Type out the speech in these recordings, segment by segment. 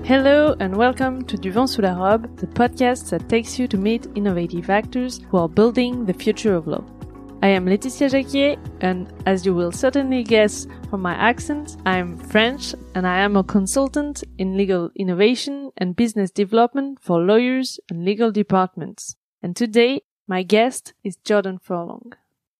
Hello and welcome to Du Vent Sous la Robe, the podcast that takes you to meet innovative actors who are building the future of law. I am Laetitia Jacquier, and as you will certainly guess from my accent, I am French and I am a consultant in legal innovation and business development for lawyers and legal departments. And today, my guest is Jordan Furlong.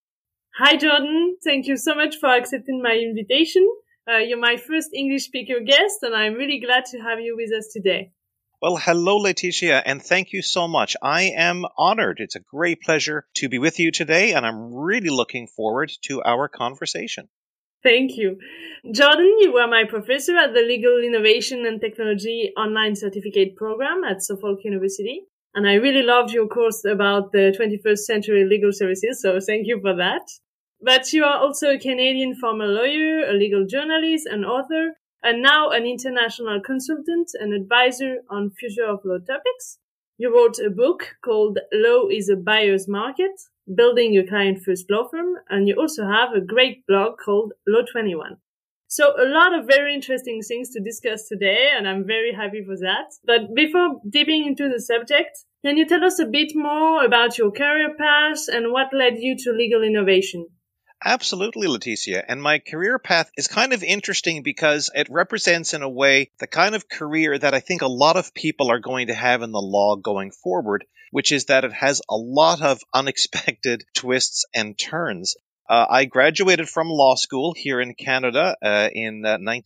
Hi Jordan, thank you so much for accepting my invitation. You're my first English speaker guest, and I'm really glad to have you with us today. Well, hello, Laetitia, and thank you so much. I am honored. It's a great pleasure to be with you today, and I'm really looking forward to our conversation. Thank you. Jordan, you were my professor at the Legal Innovation and Technology Online Certificate Program at Suffolk University, and I really loved your course about the 21st century legal services, so thank you for that. But you are also a Canadian former lawyer, a legal journalist, an author, and now an international consultant and advisor on future of law topics. You wrote a book called Law is a Buyer's Market, Building a Client-First Law Firm, and you also have a great blog called Law 21. So a lot of very interesting things to discuss today, and I'm very happy for that. But before dipping into the subject, can you tell us a bit more about your career path and what led you to legal innovation? Absolutely, Laetitia. And my career path is kind of interesting because it represents, in a way, the kind of career that I think a lot of people are going to have in the law going forward, which is that it has a lot of unexpected twists and turns. I graduated from law school here in Canada in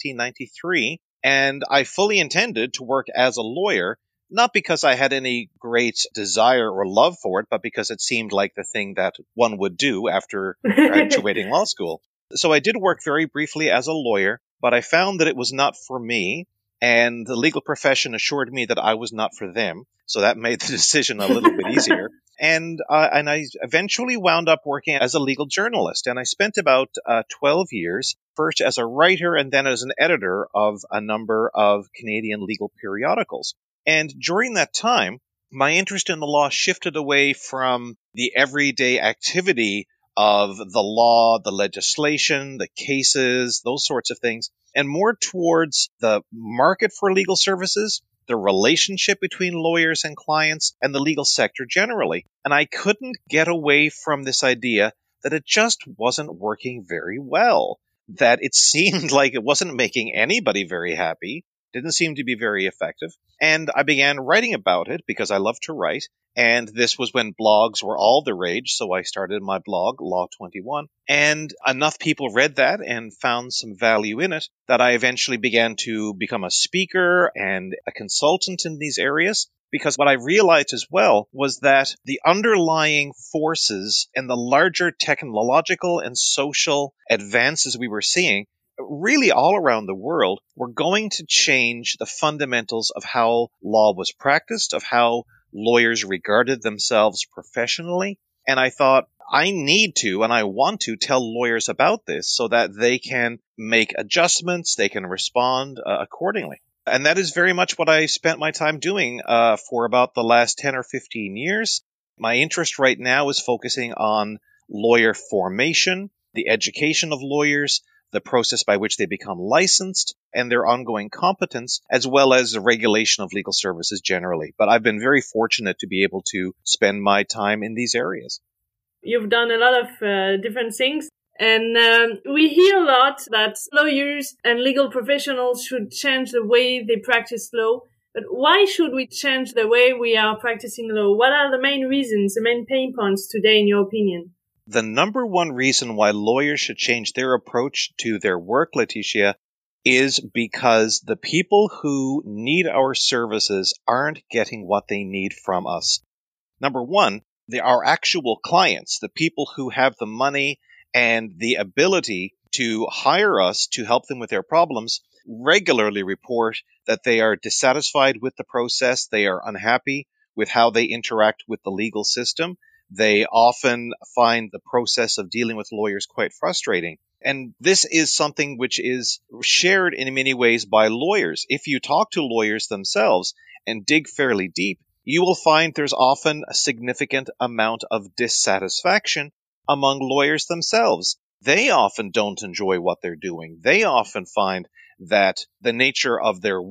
1993, and I fully intended to work as a lawyer, not because I had any great desire or love for it, but because it seemed like the thing that one would do after graduating law school. So I did work very briefly as a lawyer, but I found that it was not for me, and the legal profession assured me that I was not for them. So that made the decision a little bit easier. And I eventually wound up working as a legal journalist, and I spent about 12 years, first as a writer and then as an editor of a number of Canadian legal periodicals. And during that time, my interest in the law shifted away from the everyday activity of the law, the legislation, the cases, those sorts of things, and more towards the market for legal services, the relationship between lawyers and clients, and the legal sector generally. And I couldn't get away from this idea that it just wasn't working very well, that it seemed like it wasn't making anybody very happy, didn't seem to be very effective. And I began writing about it because I love to write. And this was when blogs were all the rage. So I started my blog, Law 21. And enough people read that and found some value in it that I eventually began to become a speaker and a consultant in these areas. Because what I realized as well was that the underlying forces and the larger technological and social advances we were seeing really all around the world, were going to change the fundamentals of how law was practiced, of how lawyers regarded themselves professionally. And I thought, I need to and I want to tell lawyers about this so that they can make adjustments, they can respond accordingly. And that is very much what I spent my time doing for about the last 10 or 15 years. My interest right now is focusing on lawyer formation, the education of lawyers, the process by which they become licensed, and their ongoing competence, as well as the regulation of legal services generally. But I've been very fortunate to be able to spend my time in these areas. You've done a lot of different things, and we hear a lot that lawyers and legal professionals should change the way they practice law. But why should we change the way we are practicing law? What are the main reasons, the main pain points today, in your opinion? The number one reason why lawyers should change their approach to their work, Laetitia, is because the people who need our services aren't getting what they need from us. Number one, our actual clients, the people who have the money and the ability to hire us to help them with their problems, regularly report that they are dissatisfied with the process, they are unhappy with how they interact with the legal system. They often find the process of dealing with lawyers quite frustrating. And this is something which is shared in many ways by lawyers. If you talk to lawyers themselves and dig fairly deep, you will find there's often a significant amount of dissatisfaction among lawyers themselves. They often don't enjoy what they're doing. They often find that the nature of their work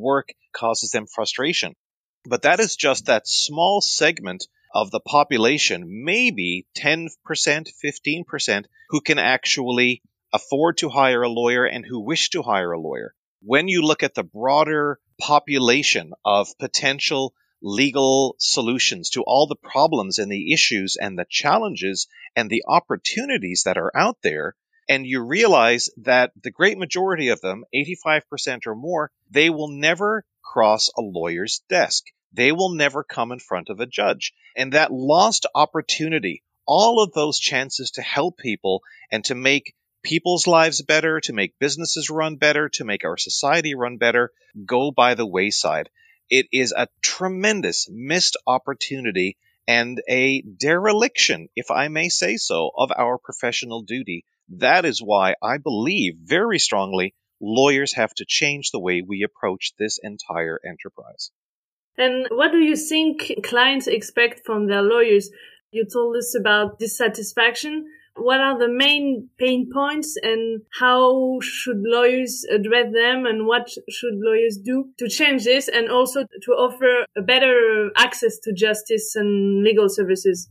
causes them frustration. But that is just that small segment of the population, maybe 10%, 15%, who can actually afford to hire a lawyer and who wish to hire a lawyer. When you look at the broader population of potential legal solutions to all the problems and the issues and the challenges and the opportunities that are out there, and you realize that the great majority of them, 85% or more, they will never cross a lawyer's desk. They will never come in front of a judge. And that lost opportunity, all of those chances to help people and to make people's lives better, to make businesses run better, to make our society run better, go by the wayside. It is a tremendous missed opportunity and a dereliction, if I may say so, of our professional duty. That is why I believe very strongly lawyers have to change the way we approach this entire enterprise. And what do you think clients expect from their lawyers? You told us about dissatisfaction. What are the main pain points and how should lawyers address them and what should lawyers do to change this and also to offer a better access to justice and legal services?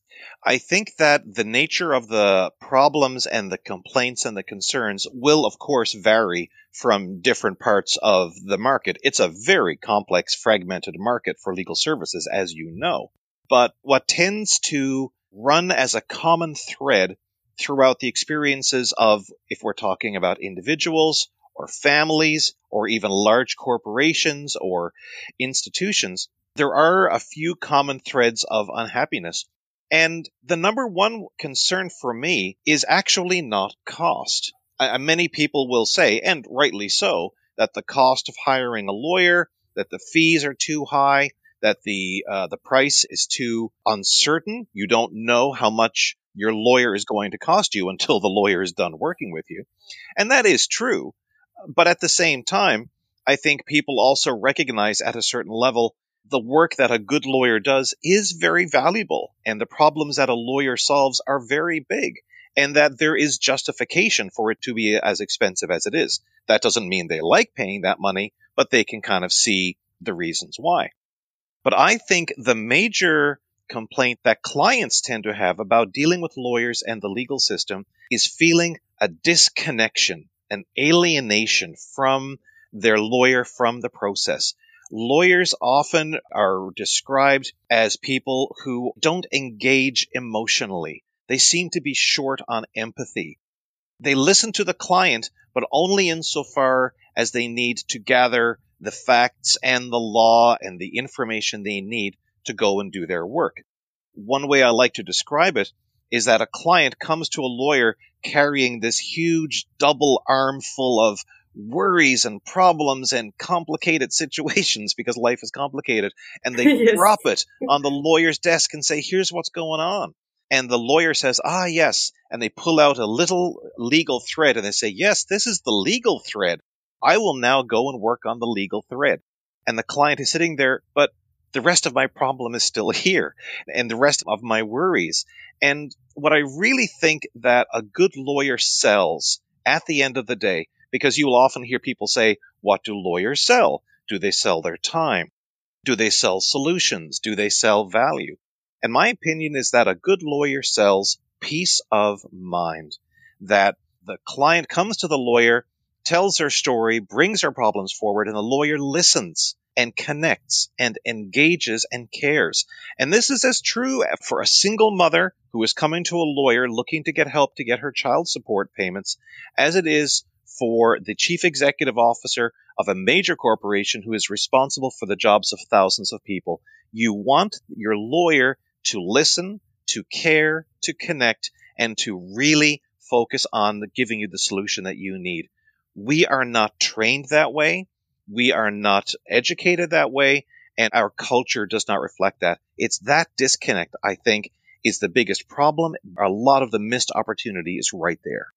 I think that the nature of the problems and the complaints and the concerns will, of course, vary from different parts of the market. It's a very complex, fragmented market for legal services, as you know. But what tends to run as a common thread throughout the experiences of, if we're talking about individuals or families or even large corporations or institutions, there are a few common threads of unhappiness. And the number one concern for me is actually not cost. Many people will say, and rightly so, that the cost of hiring a lawyer, that the fees are too high, that the price is too uncertain. You don't know how much your lawyer is going to cost you until the lawyer is done working with you. And that is true. But at the same time, I think people also recognize at a certain level the work that a good lawyer does is very valuable, and the problems that a lawyer solves are very big, and that there is justification for it to be as expensive as it is. That doesn't mean they like paying that money, but they can kind of see the reasons why. But I think the major complaint that clients tend to have about dealing with lawyers and the legal system is feeling a disconnection, an alienation from their lawyer, from the process. Lawyers often are described as people who don't engage emotionally. They seem to be short on empathy. They listen to the client, but only insofar as they need to gather the facts and the law and the information they need to go and do their work. One way I like to describe it is that a client comes to a lawyer carrying this huge double armful of worries and problems and complicated situations because life is complicated, and they Yes. drop it on the lawyer's desk and say, here's what's going on. And the lawyer says, yes, and they pull out a little legal thread and they say, yes, this is the legal thread. I will now go and work on the legal thread. And the client is sitting there, but the rest of my problem is still here, and the rest of my worries. And what I really think that a good lawyer sells at the end of the day, because you will often hear people say, what do lawyers sell? Do they sell their time? Do they sell solutions? Do they sell value? And my opinion is that a good lawyer sells peace of mind, that the client comes to the lawyer, tells their story, brings their problems forward, and the lawyer listens and connects and engages and cares. And this is as true for a single mother who is coming to a lawyer looking to get help to get her child support payments as it is for the chief executive officer of a major corporation who is responsible for the jobs of thousands of people. You want your lawyer to listen, to care, to connect, and to really focus on giving you the solution that you need. We are not trained that way. We are not educated that way, and our culture does not reflect that. It's that disconnect, I think, is the biggest problem. A lot of the missed opportunity is right there.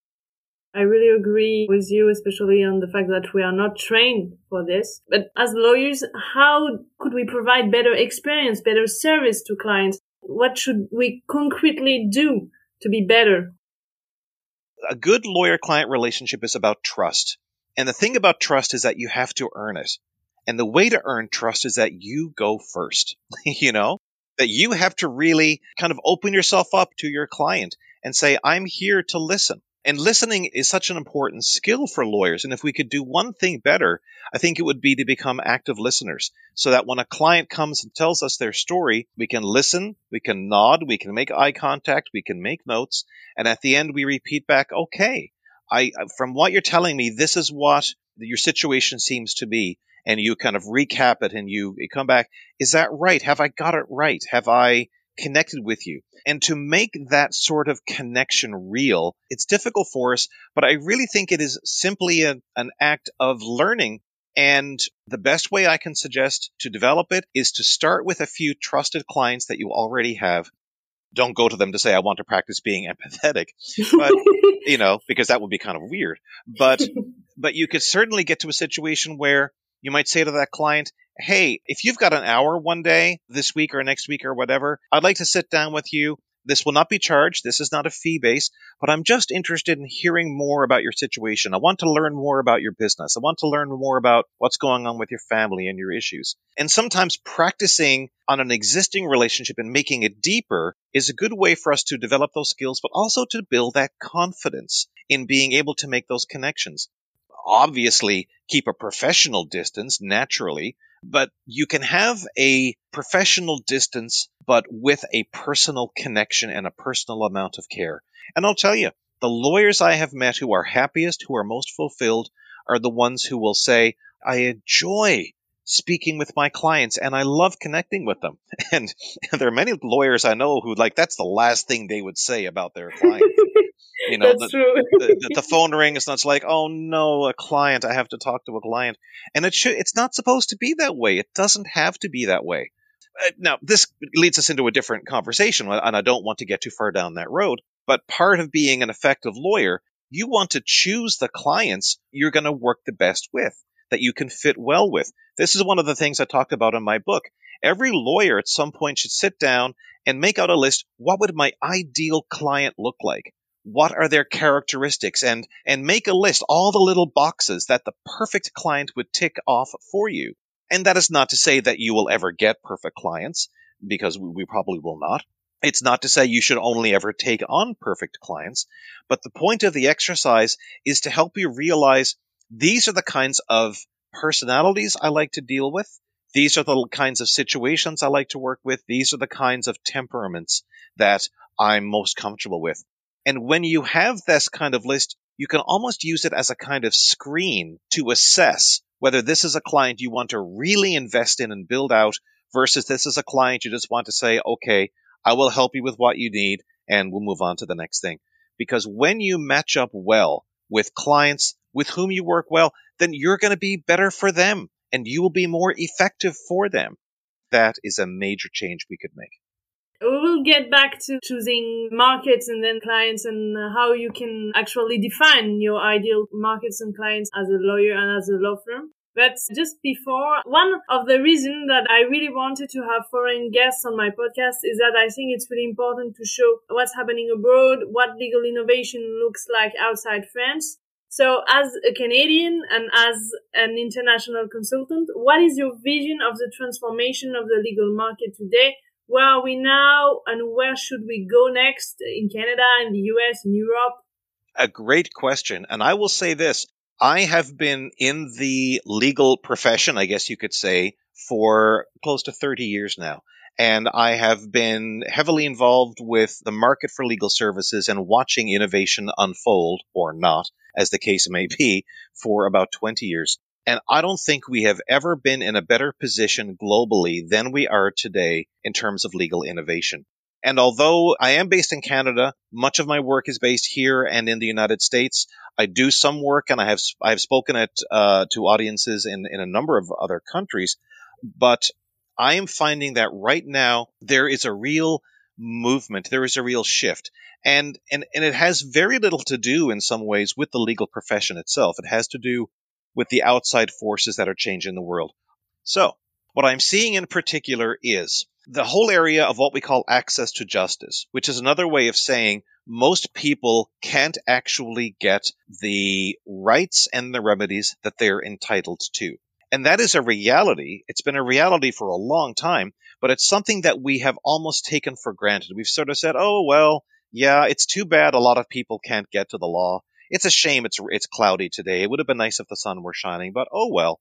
I really agree with you, especially on the fact that we are not trained for this. But as lawyers, how could we provide better experience, better service to clients? What should we concretely do to be better? A good lawyer-client relationship is about trust. And the thing about trust is that you have to earn it. And the way to earn trust is that you go first, that you have to really kind of open yourself up to your client and say, I'm here to listen. And listening is such an important skill for lawyers. And if we could do one thing better, I think it would be to become active listeners so that when a client comes and tells us their story, we can listen, we can nod, we can make eye contact, we can make notes. And at the end, we repeat back, okay, from what you're telling me, this is what your situation seems to be. And you kind of recap it and you come back. Is that right? Have I got it right? Have I connected with you? And to make that sort of connection real, it's difficult for us, but I really think it is simply an act of learning. And the best way I can suggest to develop it is to start with a few trusted clients that you already have. Don't go to them to say, I want to practice being empathetic, but, because that would be kind of weird. But you could certainly get to a situation where you might say to that client, hey, if you've got an hour one day, this week or next week or whatever, I'd like to sit down with you. This will not be charged. This is not a fee base, but I'm just interested in hearing more about your situation. I want to learn more about your business. I want to learn more about what's going on with your family and your issues. And sometimes practicing on an existing relationship and making it deeper is a good way for us to develop those skills, but also to build that confidence in being able to make those connections. Obviously, keep a professional distance naturally, but you can have a professional distance, but with a personal connection and a personal amount of care. And I'll tell you, the lawyers I have met who are happiest, who are most fulfilled, are the ones who will say, I enjoy speaking with my clients and I love connecting with them. And there are many lawyers I know who that's the last thing they would say about their clients. That's true. the phone rings and it's like, oh no, a client, I have to talk to a client. And it's not supposed to be that way. It doesn't have to be that way. Now, this leads us into a different conversation, and I don't want to get too far down that road. But part of being an effective lawyer, you want to choose the clients you're going to work the best with, that you can fit well with. This is one of the things I talked about in my book. Every lawyer at some point should sit down and make out a list. What would my ideal client look like? What are their characteristics? And make a list, all the little boxes that the perfect client would tick off for you. And that is not to say that you will ever get perfect clients, because we probably will not. It's not to say you should only ever take on perfect clients. But the point of the exercise is to help you realize these are the kinds of personalities I like to deal with. These are the kinds of situations I like to work with. These are the kinds of temperaments that I'm most comfortable with. And when you have this kind of list, you can almost use it as a kind of screen to assess whether this is a client you want to really invest in and build out versus this is a client you just want to say, okay, I will help you with what you need and we'll move on to the next thing. Because when you match up well with clients with whom you work well, then you're going to be better for them and you will be more effective for them. That is a major change we could make. We will get back to choosing markets and then clients and how you can actually define your ideal markets and clients as a lawyer and as a law firm. But just before, one of the reasons that I really wanted to have foreign guests on my podcast is that I think it's really important to show what's happening abroad, what legal innovation looks like outside France. So as a Canadian and as an international consultant, what is your vision of the transformation of the legal market today? Where are we now and where should we go next in Canada, in the US, in Europe? A great question. And I will say this. I have been in the legal profession, I guess you could say, for close to 30 years now. And I have been heavily involved with the market for legal services and watching innovation unfold, or not, as the case may be, for about 20 years. And I don't think we have ever been in a better position globally than we are today in terms of legal innovation. And although I am based in Canada, much of my work is based here and in the United States. I do some work, and I have spoken to audiences in a number of other countries. But I am finding that right now there is a real movement, there is a real shift. And it has very little to do in some ways with the legal profession itself. It has to do with the outside forces that are changing the world. So, what I'm seeing in particular is the whole area of what we call access to justice, which is another way of saying most people can't actually get the rights and the remedies that they're entitled to. And that is a reality. It's been a reality for a long time, but it's something that we have almost taken for granted. We've sort of said, oh, well, yeah, it's too bad a lot of people can't get to the law. It's a shame it's cloudy today. It would have been nice if the sun were shining, but oh well.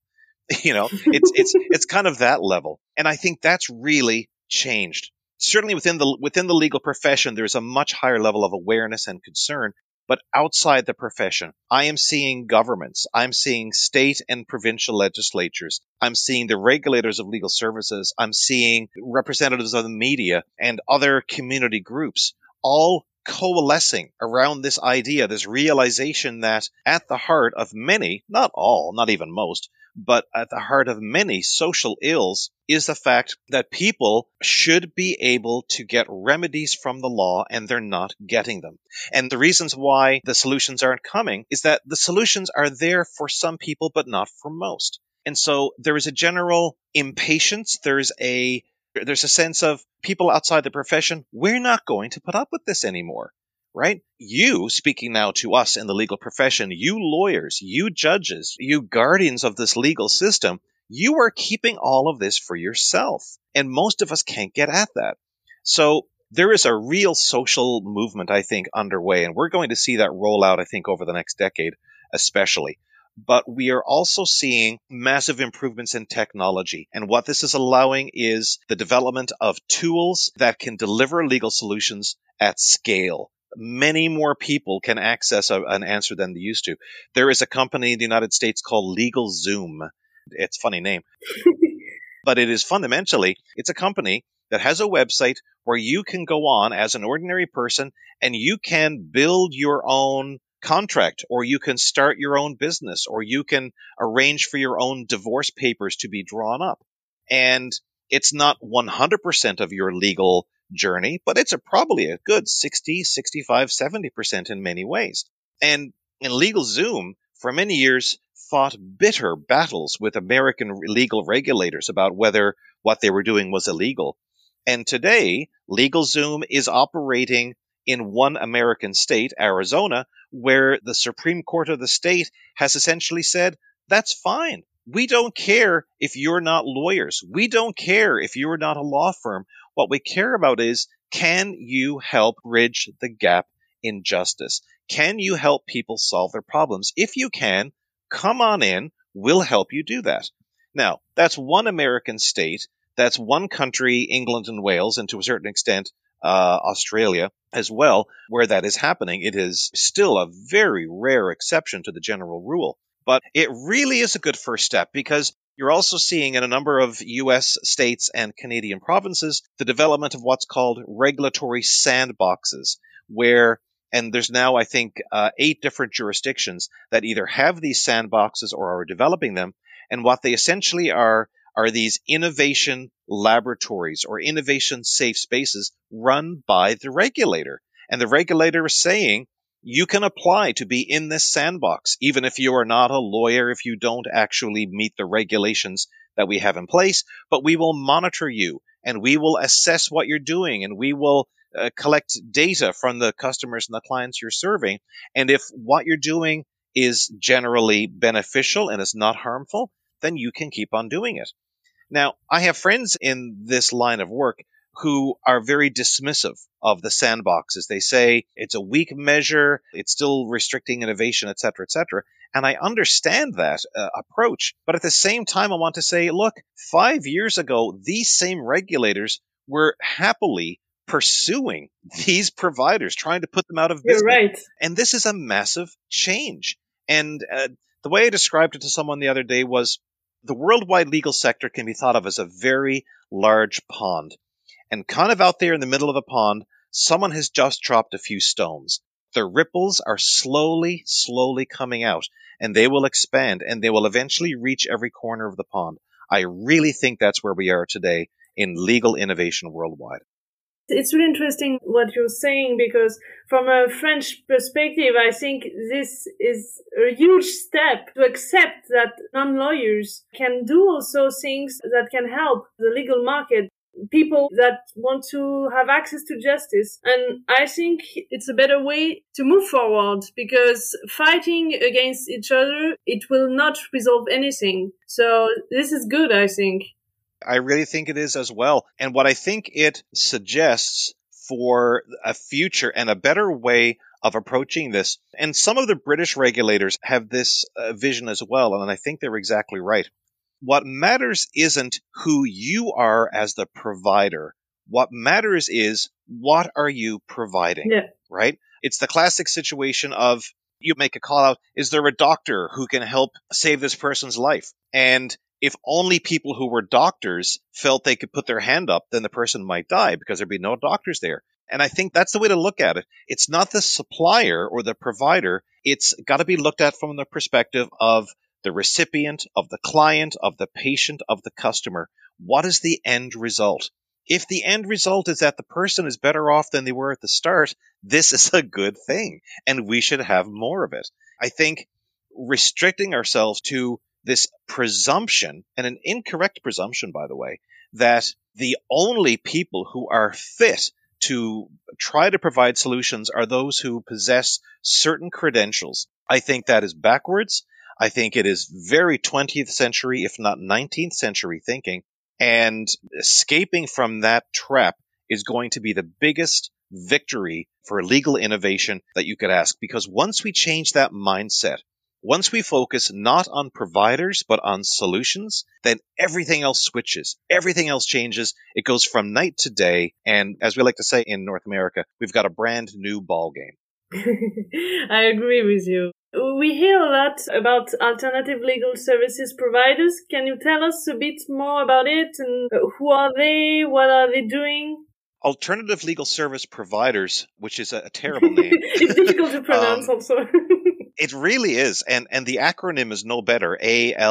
It's kind of that level. And I think that's really changed. Certainly within the legal profession, there's a much higher level of awareness and concern. But outside the profession, I am seeing governments, I'm seeing state and provincial legislatures, I'm seeing the regulators of legal services, I'm seeing representatives of the media and other community groups all coalescing around this idea, this realization that at the heart of many, not all, not even most, but at the heart of many social ills is the fact that people should be able to get remedies from the law and they're not getting them. And the reasons why the solutions aren't coming is that the solutions are there for some people, but not for most. And so there is a general impatience. There's a sense of people outside the profession, we're not going to put up with this anymore. Right? You, speaking now to us in the legal profession, you lawyers, you judges, you guardians of this legal system, you are keeping all of this for yourself. And most of us can't get at that. So there is a real social movement, I think, underway. And we're going to see that roll out, I think, over the next decade, especially. But we are also seeing massive improvements in technology. And what this is allowing is the development of tools that can deliver legal solutions at scale. Many more people can access an answer than they used to. There is a company in the United States called LegalZoom. It's a funny name. But it is fundamentally, it's a company that has a website where you can go on as an ordinary person and you can build your own contract, or you can start your own business, or you can arrange for your own divorce papers to be drawn up. And it's not 100% of your legal journey, but it's probably a good 60, 65, 70% in many ways. And in LegalZoom, for many years, fought bitter battles with American legal regulators about whether what they were doing was illegal. And today, LegalZoom is operating in one American state, Arizona, where the Supreme Court of the state has essentially said, that's fine. We don't care if you're not lawyers. We don't care if you're not a law firm. What we care about is, can you help bridge the gap in justice? Can you help people solve their problems? If you can, come on in. We'll help you do that. Now, that's one American state. That's one country, England and Wales, and to a certain extent, Australia as well, where that is happening. It is still a very rare exception to the general rule. But it really is a good first step, because you're also seeing in a number of U.S. states and Canadian provinces the development of what's called regulatory sandboxes, and there's now, I think, 8 different jurisdictions that either have these sandboxes or are developing them. And what they essentially are these innovation laboratories or innovation safe spaces run by the regulator. And the regulator is saying, you can apply to be in this sandbox, even if you are not a lawyer, if you don't actually meet the regulations that we have in place, but we will monitor you and we will assess what you're doing and we will collect data from the customers and the clients you're serving. And if what you're doing is generally beneficial and is not harmful, then you can keep on doing it. Now, I have friends in this line of work who are very dismissive of the sandboxes. They say it's a weak measure, it's still restricting innovation, et cetera, et cetera. And I understand that approach. But at the same time, I want to say, look, 5 years ago, these same regulators were happily pursuing these providers, trying to put them out of business. You're right. And this is a massive change. And the way I described it to someone the other day was, the worldwide legal sector can be thought of as a very large pond. And kind of out there in the middle of the pond, someone has just dropped a few stones. The ripples are slowly, slowly coming out, and they will expand, and they will eventually reach every corner of the pond. I really think that's where we are today in legal innovation worldwide. It's really interesting what you're saying, because from a French perspective, I think this is a huge step to accept that non-lawyers can do also things that can help the legal market. people that want to have access to justice. And I think it's a better way to move forward, because fighting against each other, it will not resolve anything. So this is good, I think. I really think it is as well. And what I think it suggests for a future and a better way of approaching this, and some of the British regulators have this vision as well, and I think they're exactly right. What matters isn't who you are as the provider. What matters is, what are you providing, right? It's the classic situation of, you make a call out, is there a doctor who can help save this person's life? And if only people who were doctors felt they could put their hand up, then the person might die because there'd be no doctors there. And I think that's the way to look at it. It's not the supplier or the provider. It's got to be looked at from the perspective of the recipient, of the client, of the patient, of the customer. What is the end result? If the end result is that the person is better off than they were at the start, this is a good thing, and we should have more of it. I think restricting ourselves to this presumption, and an incorrect presumption, by the way, that the only people who are fit to try to provide solutions are those who possess certain credentials. I think that is backwards. I think it is very 20th century, if not 19th century thinking, and escaping from that trap is going to be the biggest victory for legal innovation that you could ask. Because once we change that mindset, once we focus not on providers, but on solutions, then everything else switches. Everything else changes. It goes from night to day. And as we like to say in North America, we've got a brand new ball game. I agree with you. We hear a lot about alternative legal services providers. Can you tell us a bit more about it? And who are they? What are they doing? Alternative legal service providers, which is a terrible name. It's difficult to pronounce also. It really is. And the acronym is no better,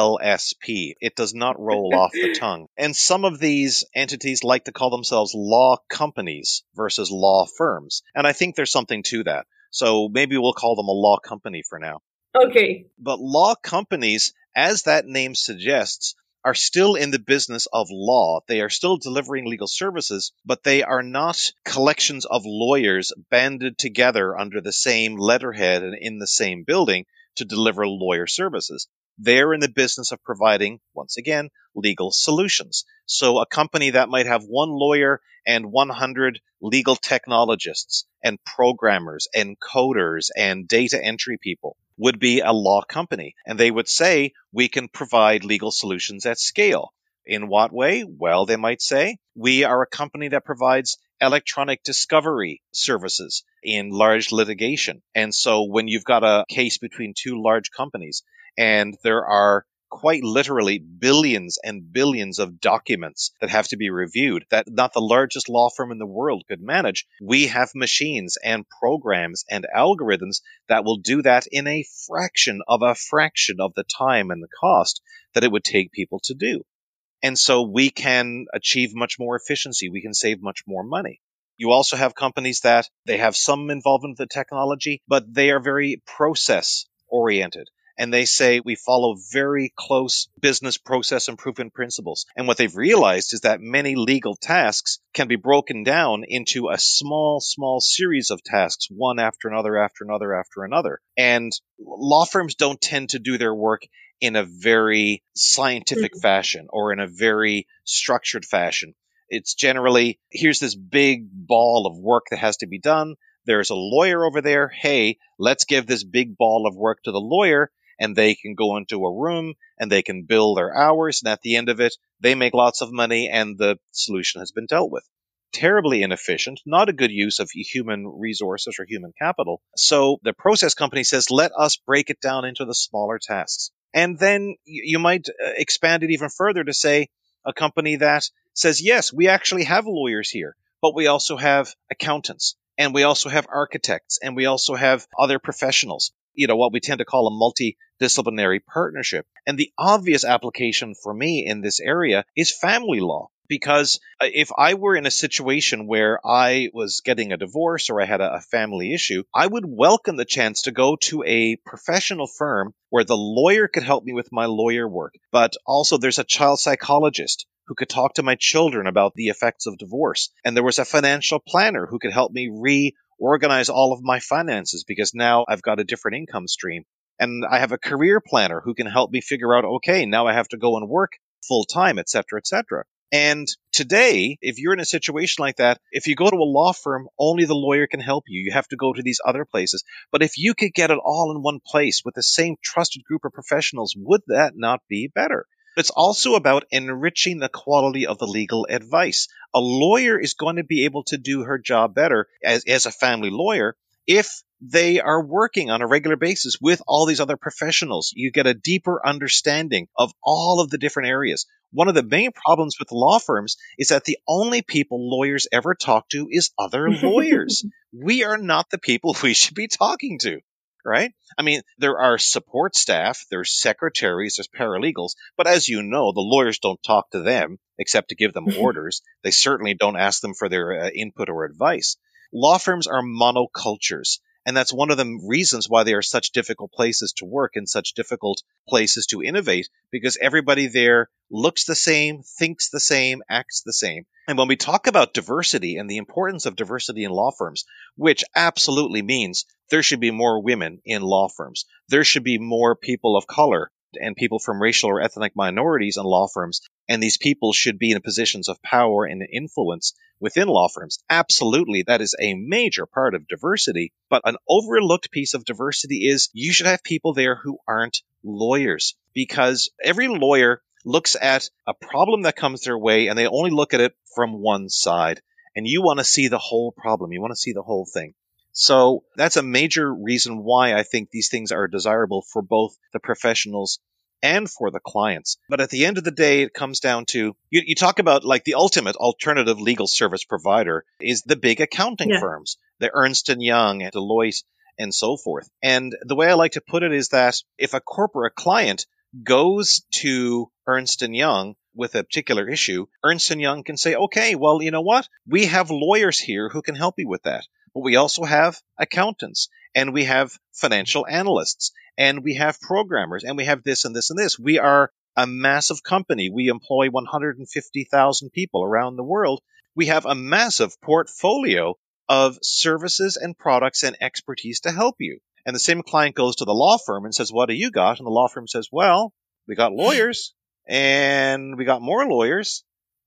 ALSP. It does not roll off the tongue. And some of these entities like to call themselves law companies versus law firms. And I think there's something to that. So maybe we'll call them a law company for now. Okay. But law companies, as that name suggests, are still in the business of law. They are still delivering legal services, but they are not collections of lawyers banded together under the same letterhead and in the same building to deliver lawyer services. They're in the business of providing, once again, legal solutions. So a company that might have one lawyer and 100 legal technologists and programmers and coders and data entry people would be a law company. And they would say, we can provide legal solutions at scale. In what way? Well, they might say, we are a company that provides electronic discovery services in large litigation. And so when you've got a case between two large companies and there are quite literally billions and billions of documents that have to be reviewed that not the largest law firm in the world could manage, we have machines and programs and algorithms that will do that in a fraction of the time and the cost that it would take people to do. And so we can achieve much more efficiency. We can save much more money. You also have companies that they have some involvement with the technology, but they are very process oriented. And they say we follow very close business process improvement principles. And what they've realized is that many legal tasks can be broken down into a small series of tasks, one after another, after another, after another. And law firms don't tend to do their work in a very scientific fashion or in a very structured fashion. It's generally, here's this big ball of work that has to be done. There's a lawyer over there. Hey, let's give this big ball of work to the lawyer. And they can go into a room and they can bill their hours. And at the end of it, they make lots of money and the solution has been dealt with. Terribly inefficient, not a good use of human resources or human capital. So the process company says, let us break it down into the smaller tasks. And then you might expand it even further to say a company that says, yes, we actually have lawyers here, but we also have accountants and we also have architects and we also have other professionals. What we tend to call a multidisciplinary partnership. And the obvious application for me in this area is family law. Because if I were in a situation where I was getting a divorce or I had a family issue, I would welcome the chance to go to a professional firm where the lawyer could help me with my lawyer work. But also there's a child psychologist who could talk to my children about the effects of divorce. And there was a financial planner who could help me reorganize all of my finances because now I've got a different income stream. And I have a career planner who can help me figure out, okay, now I have to go and work full time, et cetera, et cetera. And today, if you're in a situation like that, if you go to a law firm, only the lawyer can help you. You have to go to these other places. But if you could get it all in one place with the same trusted group of professionals, would that not be better? It's also about enriching the quality of the legal advice. A lawyer is going to be able to do her job better as a family lawyer if they are working on a regular basis with all these other professionals. You get a deeper understanding of all of the different areas. One of the main problems with law firms is that the only people lawyers ever talk to is other lawyers. We are not the people we should be talking to, right? I mean, there are support staff, there's secretaries, there's paralegals, but as you know, the lawyers don't talk to them except to give them orders. They certainly don't ask them for their input or advice. Law firms are monocultures. And that's one of the reasons why they are such difficult places to work and such difficult places to innovate, because everybody there looks the same, thinks the same, acts the same. And when we talk about diversity and the importance of diversity in law firms, which absolutely means there should be more women in law firms, there should be more people of color and people from racial or ethnic minorities in law firms, and these people should be in positions of power and influence within law firms. Absolutely, that is a major part of diversity. But an overlooked piece of diversity is you should have people there who aren't lawyers, because every lawyer looks at a problem that comes their way and they only look at it from one side. And you want to see the whole problem. You want to see the whole thing. So that's a major reason why I think these things are desirable for both the professionals and for the clients. But at the end of the day, it comes down to, you talk about like the ultimate alternative legal service provider is the big accounting firms, the Ernst & Young and Deloitte and so forth. And the way I like to put it is that if a corporate client goes to Ernst & Young with a particular issue, Ernst & Young can say, okay, well, you know what? We have lawyers here who can help you with that. But we also have accountants, and we have financial analysts, and we have programmers, and we have this and this and this. We are a massive company. We employ 150,000 people around the world. We have a massive portfolio of services and products and expertise to help you. And the same client goes to the law firm and says, what do you got? And the law firm says, well, we got lawyers, and we got more lawyers.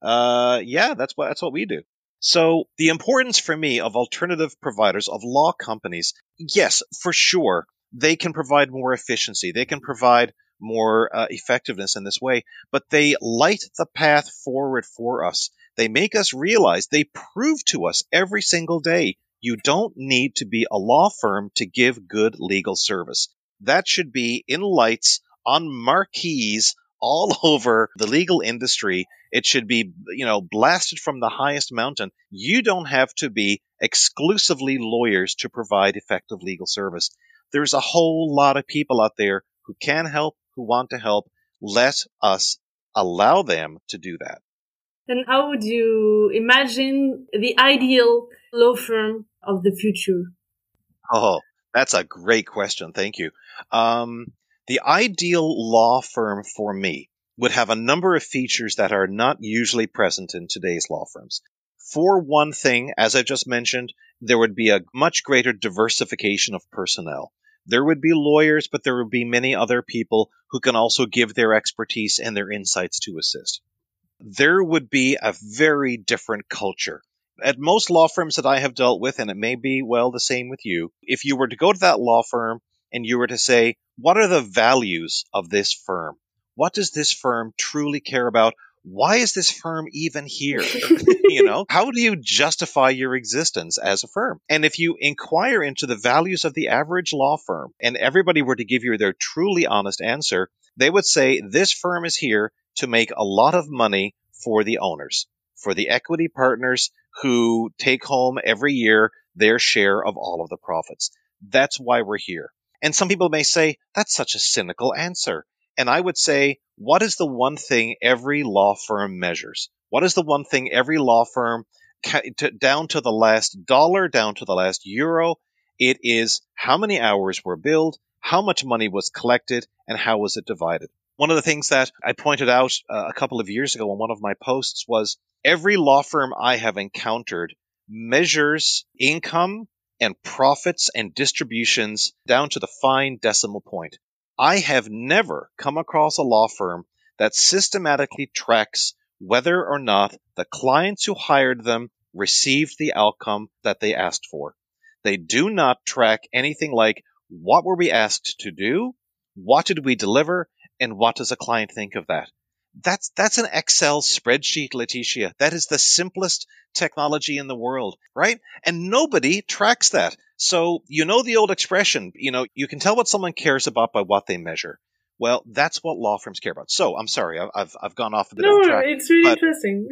That's what we do. So the importance for me of alternative providers, of law companies, yes, for sure, they can provide more efficiency. They can provide more effectiveness in this way, but they light the path forward for us. They make us realize, they prove to us every single day, you don't need to be a law firm to give good legal service. That should be in lights on marquees all over the legal industry. It should be, blasted from the highest mountain. You don't have to be exclusively lawyers to provide effective legal service. There's a whole lot of people out there who can help, who want to help. Let us allow them to do that. And how would you imagine the ideal law firm of the future? Oh, that's a great question. Thank you. The ideal law firm for me would have a number of features that are not usually present in today's law firms. For one thing, as I just mentioned, there would be a much greater diversification of personnel. There would be lawyers, but there would be many other people who can also give their expertise and their insights to assist. There would be a very different culture. At most law firms that I have dealt with, and it may be, the same with you, if you were to go to that law firm and you were to say, what are the values of this firm? What does this firm truly care about? Why is this firm even here? How do you justify your existence as a firm? And if you inquire into the values of the average law firm and everybody were to give you their truly honest answer, they would say this firm is here to make a lot of money for the owners, for the equity partners who take home every year their share of all of the profits. That's why we're here. And some people may say, that's such a cynical answer. And I would say, what is the one thing every law firm measures? What is the one thing every law firm, down to the last dollar, down to the last euro? It is how many hours were billed, how much money was collected, and how was it divided. One of the things that I pointed out a couple of years ago in one of my posts was every law firm I have encountered measures income and profits and distributions down to the fine decimal point. I have never come across a law firm that systematically tracks whether or not the clients who hired them received the outcome that they asked for. They do not track anything like what were we asked to do, what did we deliver, and what does a client think of that? That's an Excel spreadsheet, Leticia. That is the simplest technology in the world, right? And nobody tracks that. So, you know the old expression, you can tell what someone cares about by what they measure. Well, that's what law firms care about. So, I'm sorry, I've gone off a bit of a track. It's really interesting.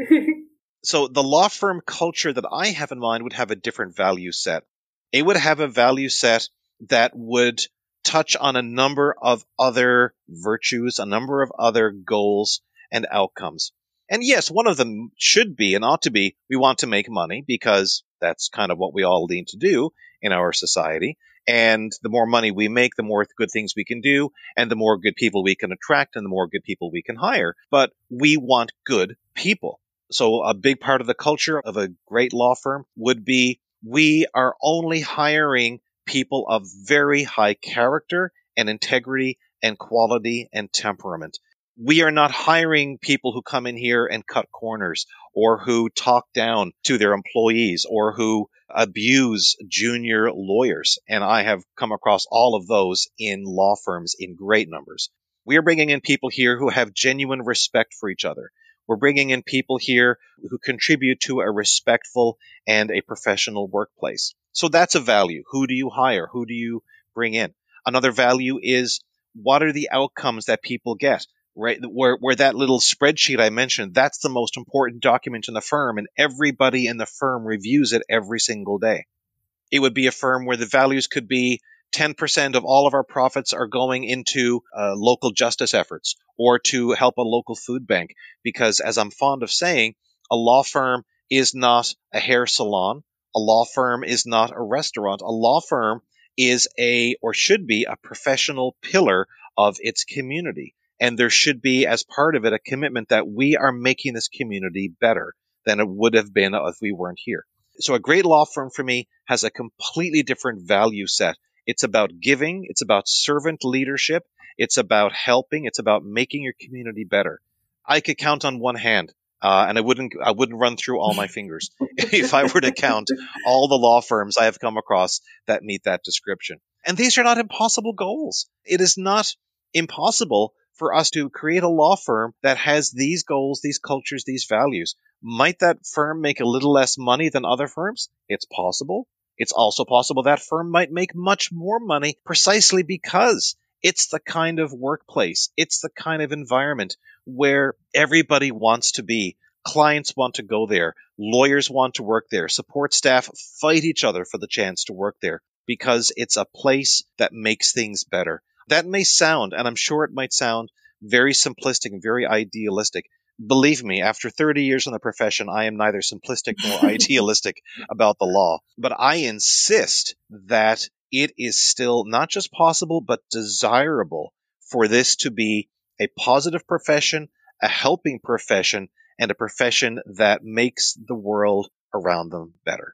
So, the law firm culture that I have in mind would have a different value set. It would have a value set that would touch on a number of other virtues, a number of other goals and outcomes. And yes, one of them should be and ought to be, we want to make money because that's kind of what we all lean to do in our society. And the more money we make, the more good things we can do, and the more good people we can attract, and the more good people we can hire. But we want good people. So a big part of the culture of a great law firm would be we are only hiring people of very high character and integrity and quality and temperament. We are not hiring people who come in here and cut corners or who talk down to their employees or who abuse junior lawyers. And I have come across all of those in law firms in great numbers. We are bringing in people here who have genuine respect for each other. We're bringing in people here who contribute to a respectful and a professional workplace. So that's a value. Who do you hire? Who do you bring in? Another value is what are the outcomes that people get? Right, where that little spreadsheet I mentioned, that's the most important document in the firm, and everybody in the firm reviews it every single day. It would be a firm where the values could be 10% of all of our profits are going into local justice efforts or to help a local food bank. Because as I'm fond of saying, a law firm is not a hair salon. A law firm is not a restaurant. A law firm is or should be a professional pillar of its community. And there should be, as part of it, a commitment that we are making this community better than it would have been if we weren't here. So a great law firm for me has a completely different value set. It's about giving. It's about servant leadership. It's about helping. It's about making your community better. I could count on one hand, and I wouldn't run through all my fingers if I were to count all the law firms I have come across that meet that description. And these are not impossible goals. It is not impossible for us to create a law firm that has these goals, these cultures, these values. Might that firm make a little less money than other firms? It's possible. It's also possible that firm might make much more money precisely because it's the kind of workplace, it's the kind of environment where everybody wants to be. Clients want to go there. Lawyers want to work there. Support staff fight each other for the chance to work there because it's a place that makes things better. That may sound, and I'm sure it might sound, very simplistic and very idealistic. Believe me, after 30 years in the profession, I am neither simplistic nor idealistic about the law. But I insist that it is still not just possible, but desirable for this to be a positive profession, a helping profession, and a profession that makes the world around them better.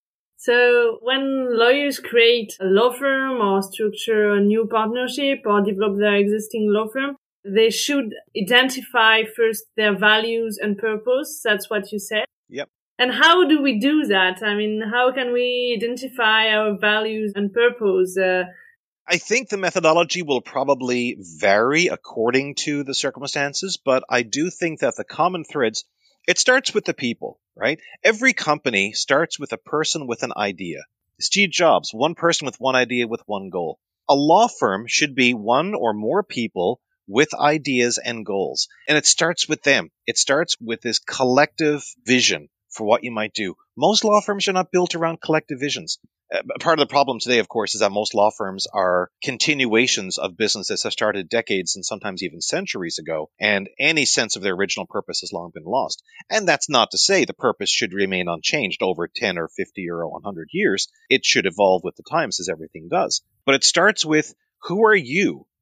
So when lawyers create a law firm or structure a new partnership or develop their existing law firm, they should identify first their values and purpose. That's what you said. Yep. And how do we do that? I mean, how can we identify our values and purpose? I think the methodology will probably vary according to the circumstances, but I do think that the common threads, it starts with the people, right? Every company starts with a person with an idea. Steve Jobs, one person with one idea with one goal. A law firm should be one or more people with ideas and goals. And it starts with them. It starts with this collective vision for what you might do. Most law firms are not built around collective visions. Part of the problem today, of course, is that most law firms are continuations of businesses that started decades and sometimes even centuries ago, and any sense of their original purpose has long been lost. And that's not to say the purpose should remain unchanged over 10 or 50 or 100 years. It should evolve with the times, as everything does. But it starts with, who are you?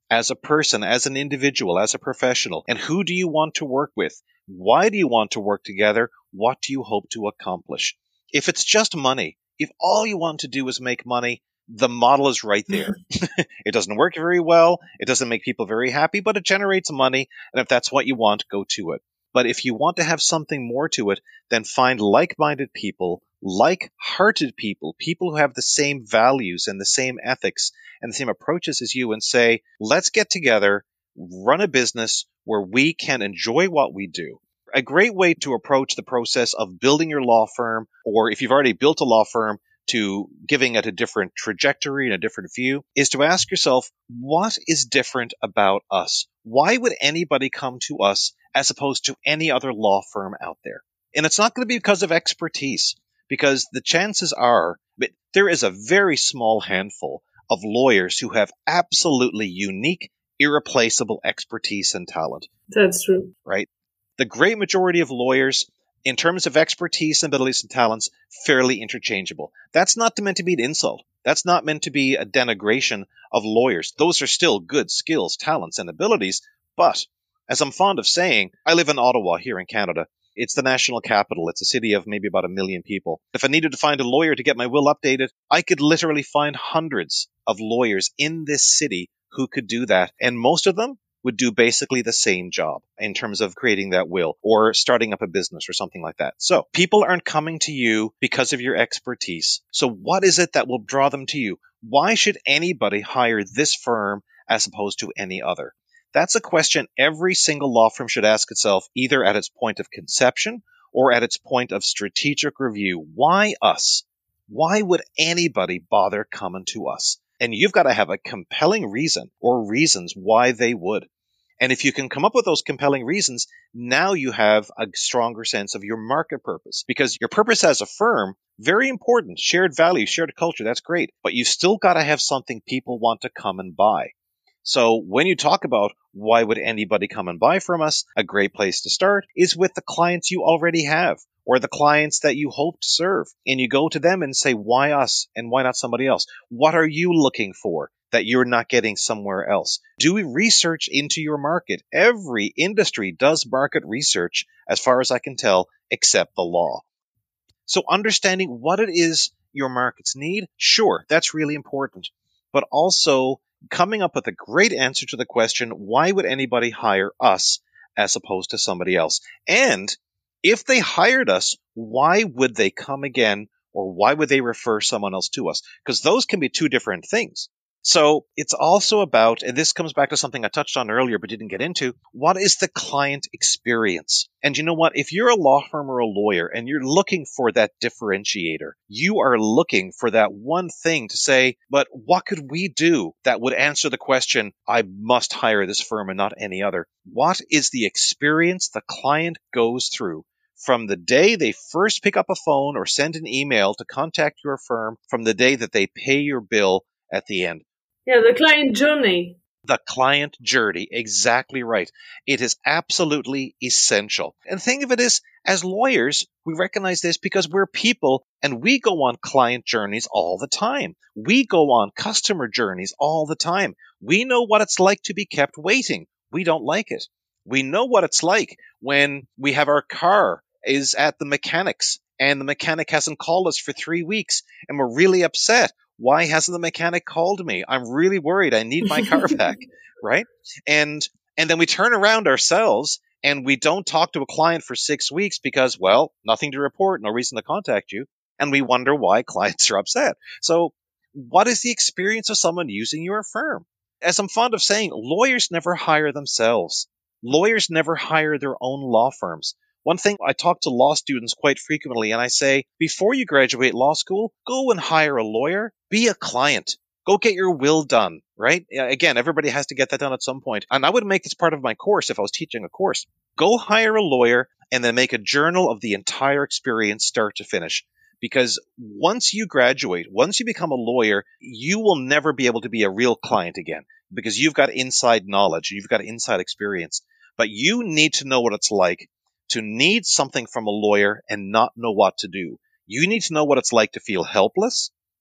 as a person, as an individual, as a professional? And who do you want to work with? Why do you want to work together? What do you hope to accomplish? If it's just money, if all you want to do is make money, the model is right there. It doesn't work very well. It doesn't make people very happy, but it generates money. And if that's what you want, go to it. But if you want to have something more to it, then find like-minded people, like-hearted people, people who have the same values and the same ethics and the same approaches as you, and say, let's get together, run a business where we can enjoy what we do. A great way to approach the process of building your law firm, or if you've already built a law firm, to giving it a different trajectory and a different view, is to ask yourself, what is different about us? Why would anybody come to us as opposed to any other law firm out there? And it's not going to be because of expertise, because the chances are that there is a very small handful of lawyers who have absolutely unique, irreplaceable expertise and talent. That's true. Right? The great majority of lawyers, in terms of expertise, abilities, and talents, fairly interchangeable. That's not meant to be an insult. That's not meant to be a denigration of lawyers. Those are still good skills, talents, and abilities. But, as I'm fond of saying, I live in Ottawa here in Canada. It's the national capital. It's a city of maybe about 1 million people. If I needed to find a lawyer to get my will updated, I could literally find hundreds of lawyers in this city who could do that. And most of them would do basically the same job in terms of creating that will or starting up a business or something like that. So people aren't coming to you because of your expertise. So what is it that will draw them to you? Why should anybody hire this firm as opposed to any other? That's a question every single law firm should ask itself, either at its point of conception or at its point of strategic review. Why us? Why would anybody bother coming to us? And you've got to have a compelling reason or reasons why they would. And if you can come up with those compelling reasons, now you have a stronger sense of your market purpose. Because your purpose as a firm, very important, shared values, shared culture, that's great. But you've still got to have something people want to come and buy. So when you talk about why would anybody come and buy from us, a great place to start is with the clients you already have or the clients that you hope to serve. And you go to them and say, why us and why not somebody else? What are you looking for that you're not getting somewhere else? Do research into your market. Every industry does market research, as far as I can tell, except the law. So understanding what it is your markets need, sure, that's really important. But also coming up with a great answer to the question, why would anybody hire us as opposed to somebody else? And if they hired us, why would they come again, or why would they refer someone else to us? Because those can be two different things. So it's also about, and this comes back to something I touched on earlier but didn't get into, what is the client experience? And you know what? If you're a law firm or a lawyer and you're looking for that differentiator, you are looking for that one thing to say, but what could we do that would answer the question, I must hire this firm and not any other? What is the experience the client goes through from the day they first pick up a phone or send an email to contact your firm, from the day that they pay your bill at the end? Yeah, the client journey. The client journey, exactly right. It is absolutely essential. And think of it as lawyers, we recognize this because we're people and we go on client journeys all the time. We go on customer journeys all the time. We know what it's like to be kept waiting. We don't like it. We know what it's like when we have our car is at the mechanic's and the mechanic hasn't called us for 3 weeks and we're really upset. Why hasn't the mechanic called me? I'm really worried. I need my car back, right? And then we turn around ourselves and we don't talk to a client for 6 weeks because, well, nothing to report, no reason to contact you. And we wonder why clients are upset. So what is the experience of someone using your firm? As I'm fond of saying, lawyers never hire themselves. Lawyers never hire their own law firms. One thing, I talk to law students quite frequently, and I say, before you graduate law school, go and hire a lawyer, be a client. Go get your will done, right? Again, everybody has to get that done at some point. And I would make this part of my course if I was teaching a course. Go hire a lawyer and then make a journal of the entire experience, start to finish. Because once you graduate, once you become a lawyer, you will never be able to be a real client again because you've got inside knowledge, you've got inside experience. But you need to know what it's like to need something from a lawyer and not know what to do. You need to know what it's like to feel helpless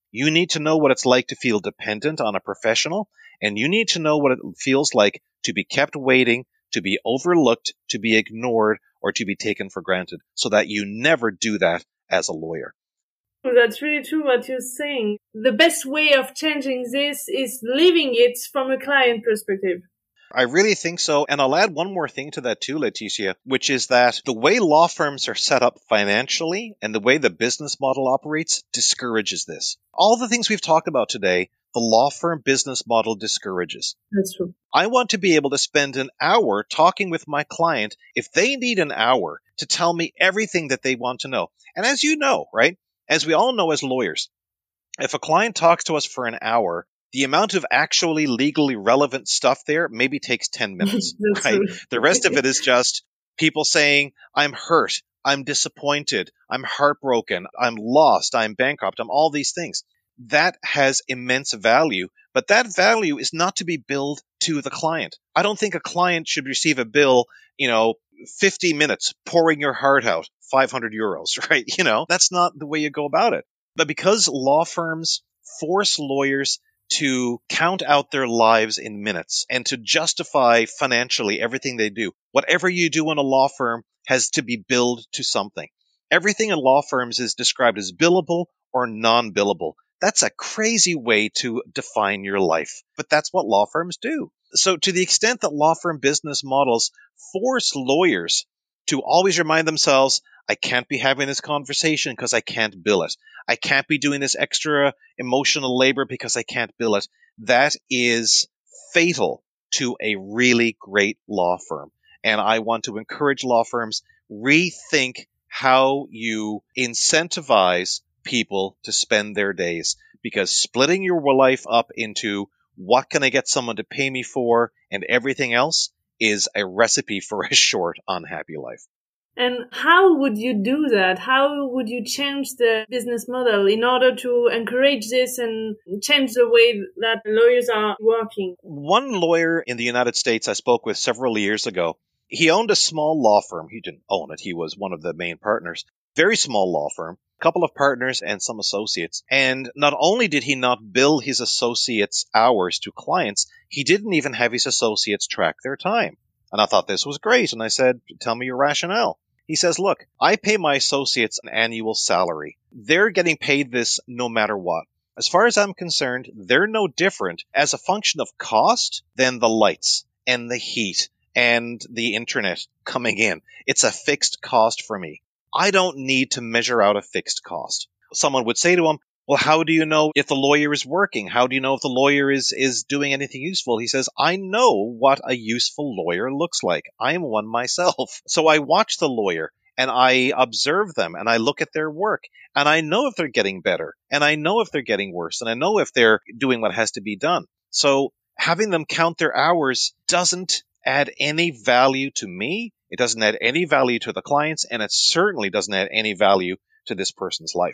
You need to know what it's like to feel dependent on a professional, and you need to know what it feels like to be kept waiting, to be overlooked, to be ignored, or to be taken for granted, so that you never do that as a lawyer. Well, that's really true what you're saying. The best way of changing this is living it from a client perspective. I really think so. And I'll add one more thing to that too, Leticia, which is that the way law firms are set up financially and the way the business model operates discourages this. All the things we've talked about today, the law firm business model discourages. That's true. I want to be able to spend an hour talking with my client if they need an hour to tell me everything that they want to know. And as you know, right, as we all know as lawyers, if a client talks to us for an hour, the amount of actually legally relevant stuff there maybe takes 10 minutes, right? True. The rest of it is just people saying, I'm hurt, I'm disappointed, I'm heartbroken, I'm lost, I'm bankrupt, I'm all these things. That has immense value, but that value is not to be billed to the client. I don't think a client should receive a bill, 50 minutes pouring your heart out, 500 euros, right? That's not the way you go about it. But because law firms force lawyers to count out their lives in minutes and to justify financially everything they do, whatever you do in a law firm has to be billed to something. Everything in law firms is described as billable or non-billable. That's a crazy way to define your life, but that's what law firms do. So to the extent that law firm business models force lawyers to always remind themselves, I can't be having this conversation because I can't bill it. I can't be doing this extra emotional labor because I can't bill it. That is fatal to a really great law firm. And I want to encourage law firms, rethink how you incentivize people to spend their days, because splitting your life up into what can I get someone to pay me for and everything else is a recipe for a short, unhappy life. And how would you do that? How would you change the business model in order to encourage this and change the way that lawyers are working? One lawyer in the United States I spoke with several years ago, he owned a small law firm. He didn't own it. He was one of the main partners. Very small law firm, a couple of partners and some associates. And not only did he not bill his associates' hours to clients, he didn't even have his associates track their time. And I thought this was great. And I said, tell me your rationale. He says, look, I pay my associates an annual salary. They're getting paid this no matter what. As far as I'm concerned, they're no different as a function of cost than the lights and the heat and the internet coming in. It's a fixed cost for me. I don't need to measure out a fixed cost. Someone would say to him, well, how do you know if the lawyer is working? How do you know if the lawyer is doing anything useful? He says, I know what a useful lawyer looks like. I'm one myself. So I watch the lawyer and I observe them and I look at their work and I know if they're getting better and I know if they're getting worse and I know if they're doing what has to be done. So having them count their hours doesn't add any value to me. It doesn't add any value to the clients, and it certainly doesn't add any value to this person's life.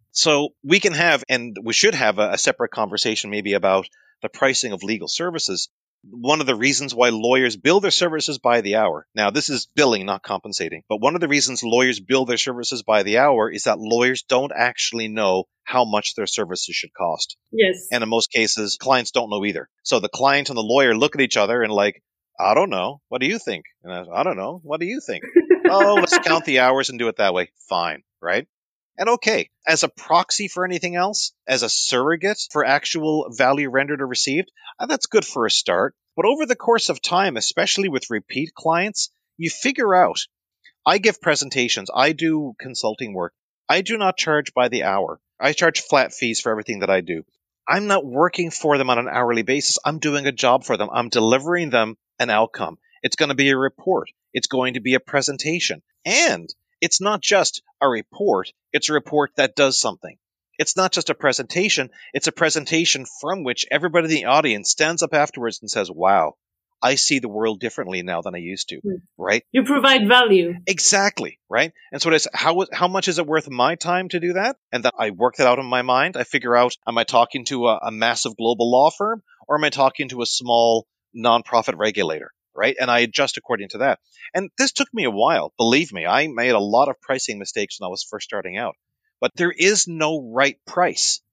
So we can have, and we should have, a separate conversation maybe about the pricing of legal services. One of the reasons why lawyers bill their services by the hour. Now, this is billing, not compensating. But one of the reasons lawyers bill their services by the hour is that lawyers don't actually know how much their services should cost. Yes. And in most cases, clients don't know either. So the client and the lawyer look at each other and like, I don't know. What do you think? And I don't know. What do you think? Oh, let's count the hours and do it that way. Fine, right? And okay, as a proxy for anything else, as a surrogate for actual value rendered or received, that's good for a start. But over the course of time, especially with repeat clients, you figure out, I give presentations, I do consulting work. I do not charge by the hour. I charge flat fees for everything that I do. I'm not working for them on an hourly basis. I'm doing a job for them. I'm delivering them an outcome. It's going to be a report. It's going to be a presentation. And it's not just a report. It's a report that does something. It's not just a presentation. It's a presentation from which everybody in the audience stands up afterwards and says, wow, I see the world differently now than I used to, right? You provide value. Exactly, right? And so it's how much is it worth my time to do that? And that I work that out in my mind. I figure out, am I talking to a massive global law firm or am I talking to a small nonprofit regulator, right? And I adjust according to that. And this took me a while. Believe me, I made a lot of pricing mistakes when I was first starting out. But there is no right price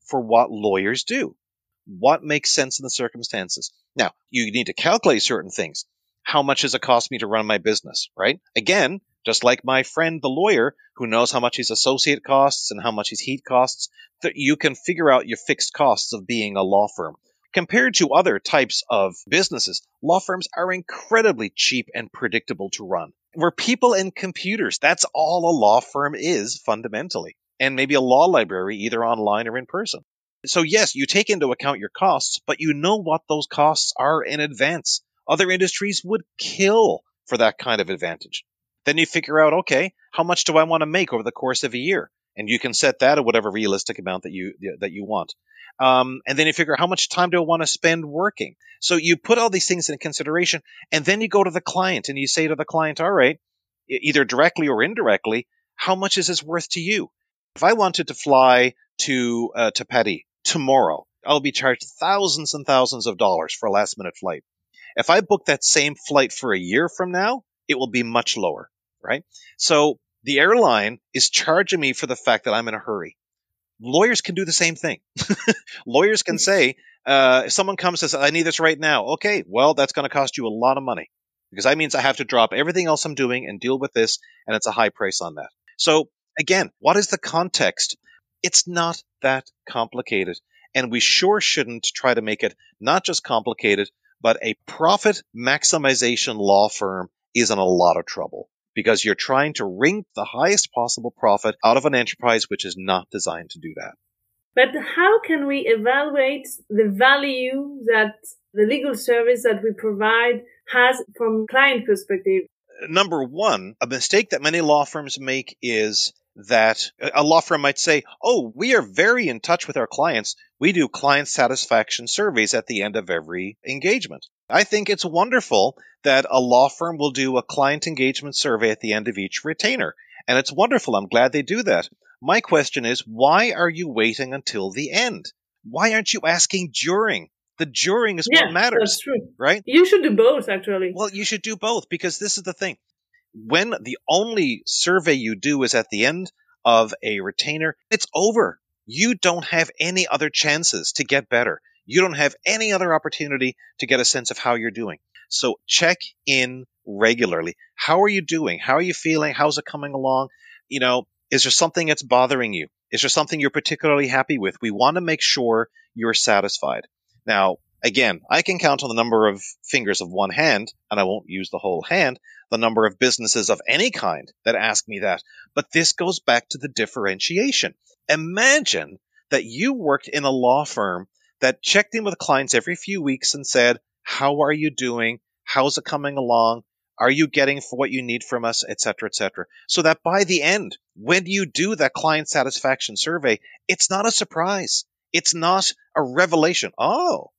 for what lawyers do. What makes sense in the circumstances? Now, you need to calculate certain things. How much does it cost me to run my business, right? Again, just like my friend, the lawyer, who knows how much his associate costs and how much his heat costs, that you can figure out your fixed costs of being a law firm. Compared to other types of businesses, law firms are incredibly cheap and predictable to run. We're people and computers. That's all a law firm is, fundamentally. And maybe a law library, either online or in person. So yes, you take into account your costs, but you know what those costs are in advance. Other industries would kill for that kind of advantage. Then you figure out, okay, how much do I want to make over the course of a year? And you can set that at whatever realistic amount that you want. And then you figure out how much time do I want to spend working? So you put all these things in consideration, and then you go to the client and you say to the client, all right, either directly or indirectly, how much is this worth to you? If I wanted to fly to Paris tomorrow, I'll be charged thousands and thousands of dollars for a last minute flight. If I book that same flight for a year from now, it will be much lower, right? So the airline is charging me for the fact that I'm in a hurry. Lawyers can do the same thing. Lawyers can say, if someone comes and says, I need this right now. Okay, well, that's going to cost you a lot of money because that means I have to drop everything else I'm doing and deal with this, and it's a high price on that. So again, what is the context? It's not that complicated, and we sure shouldn't try to make it not just complicated, but a profit maximization law firm is in a lot of trouble because you're trying to wring the highest possible profit out of an enterprise which is not designed to do that. But how can we evaluate the value that the legal service that we provide has from client perspective? Number one, a mistake that many law firms make is that a law firm might say, oh, we are very in touch with our clients. We do client satisfaction surveys at the end of every engagement. I think it's wonderful that a law firm will do a client engagement survey at the end of each retainer. And it's wonderful. I'm glad they do that. My question is, why are you waiting until the end? Why aren't you asking during? The during is what matters. That's true. Right? You should do both, actually. Well, you should do both because this is the thing. When the only survey you do is at the end of a retainer, it's over. You don't have any other chances to get better. You don't have any other opportunity to get a sense of how you're doing. So check in regularly. How are you doing? How are you feeling? How's it coming along? You know, is there something that's bothering you? Is there something you're particularly happy with? We want to make sure you're satisfied. Now, again, I can count on the number of fingers of one hand, and I won't use the whole hand, the number of businesses of any kind that ask me that. But this goes back to the differentiation. Imagine that you worked in a law firm that checked in with clients every few weeks and said, how are you doing? How's it coming along? Are you getting for what you need from us, et cetera, et cetera? So that by the end, when you do that client satisfaction survey, it's not a surprise. It's not a revelation. Well,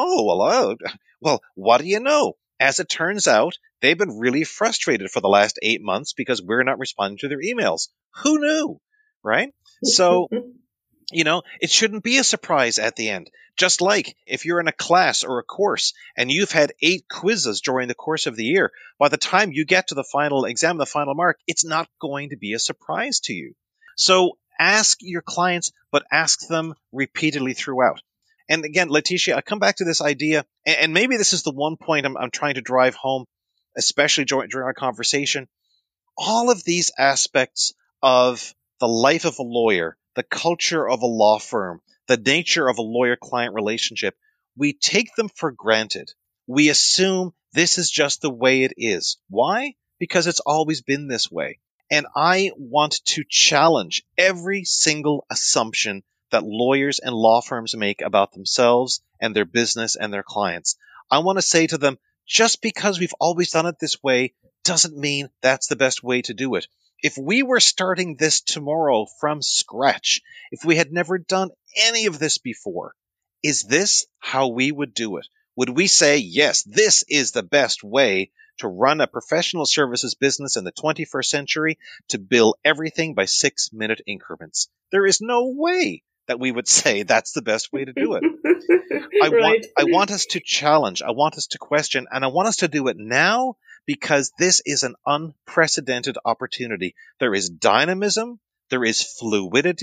what do you know? As it turns out, they've been really frustrated for the last 8 months because we're not responding to their emails. Who knew? Right? So, it shouldn't be a surprise at the end. Just like if you're in a class or a course and you've had 8 quizzes during the course of the year, by the time you get to the final exam, the final mark, it's not going to be a surprise to you. So ask your clients, but ask them repeatedly throughout. And again, Leticia, I come back to this idea, and maybe this is the one point I'm trying to drive home, especially during our conversation. All of these aspects of the life of a lawyer, the culture of a law firm, the nature of a lawyer-client relationship, we take them for granted. We assume this is just the way it is. Why? Because it's always been this way. And I want to challenge every single assumption that lawyers and law firms make about themselves and their business and their clients. I want to say to them, just because we've always done it this way doesn't mean that's the best way to do it. If we were starting this tomorrow from scratch, if we had never done any of this before, is this how we would do it? Would we say, yes, this is the best way to run a professional services business in the 21st century, to bill everything by 6-minute increments? There is no way that we would say that's the best way to do it. I want us to challenge, I want us to question, and I want us to do it now because this is an unprecedented opportunity. There is dynamism, there is fluidity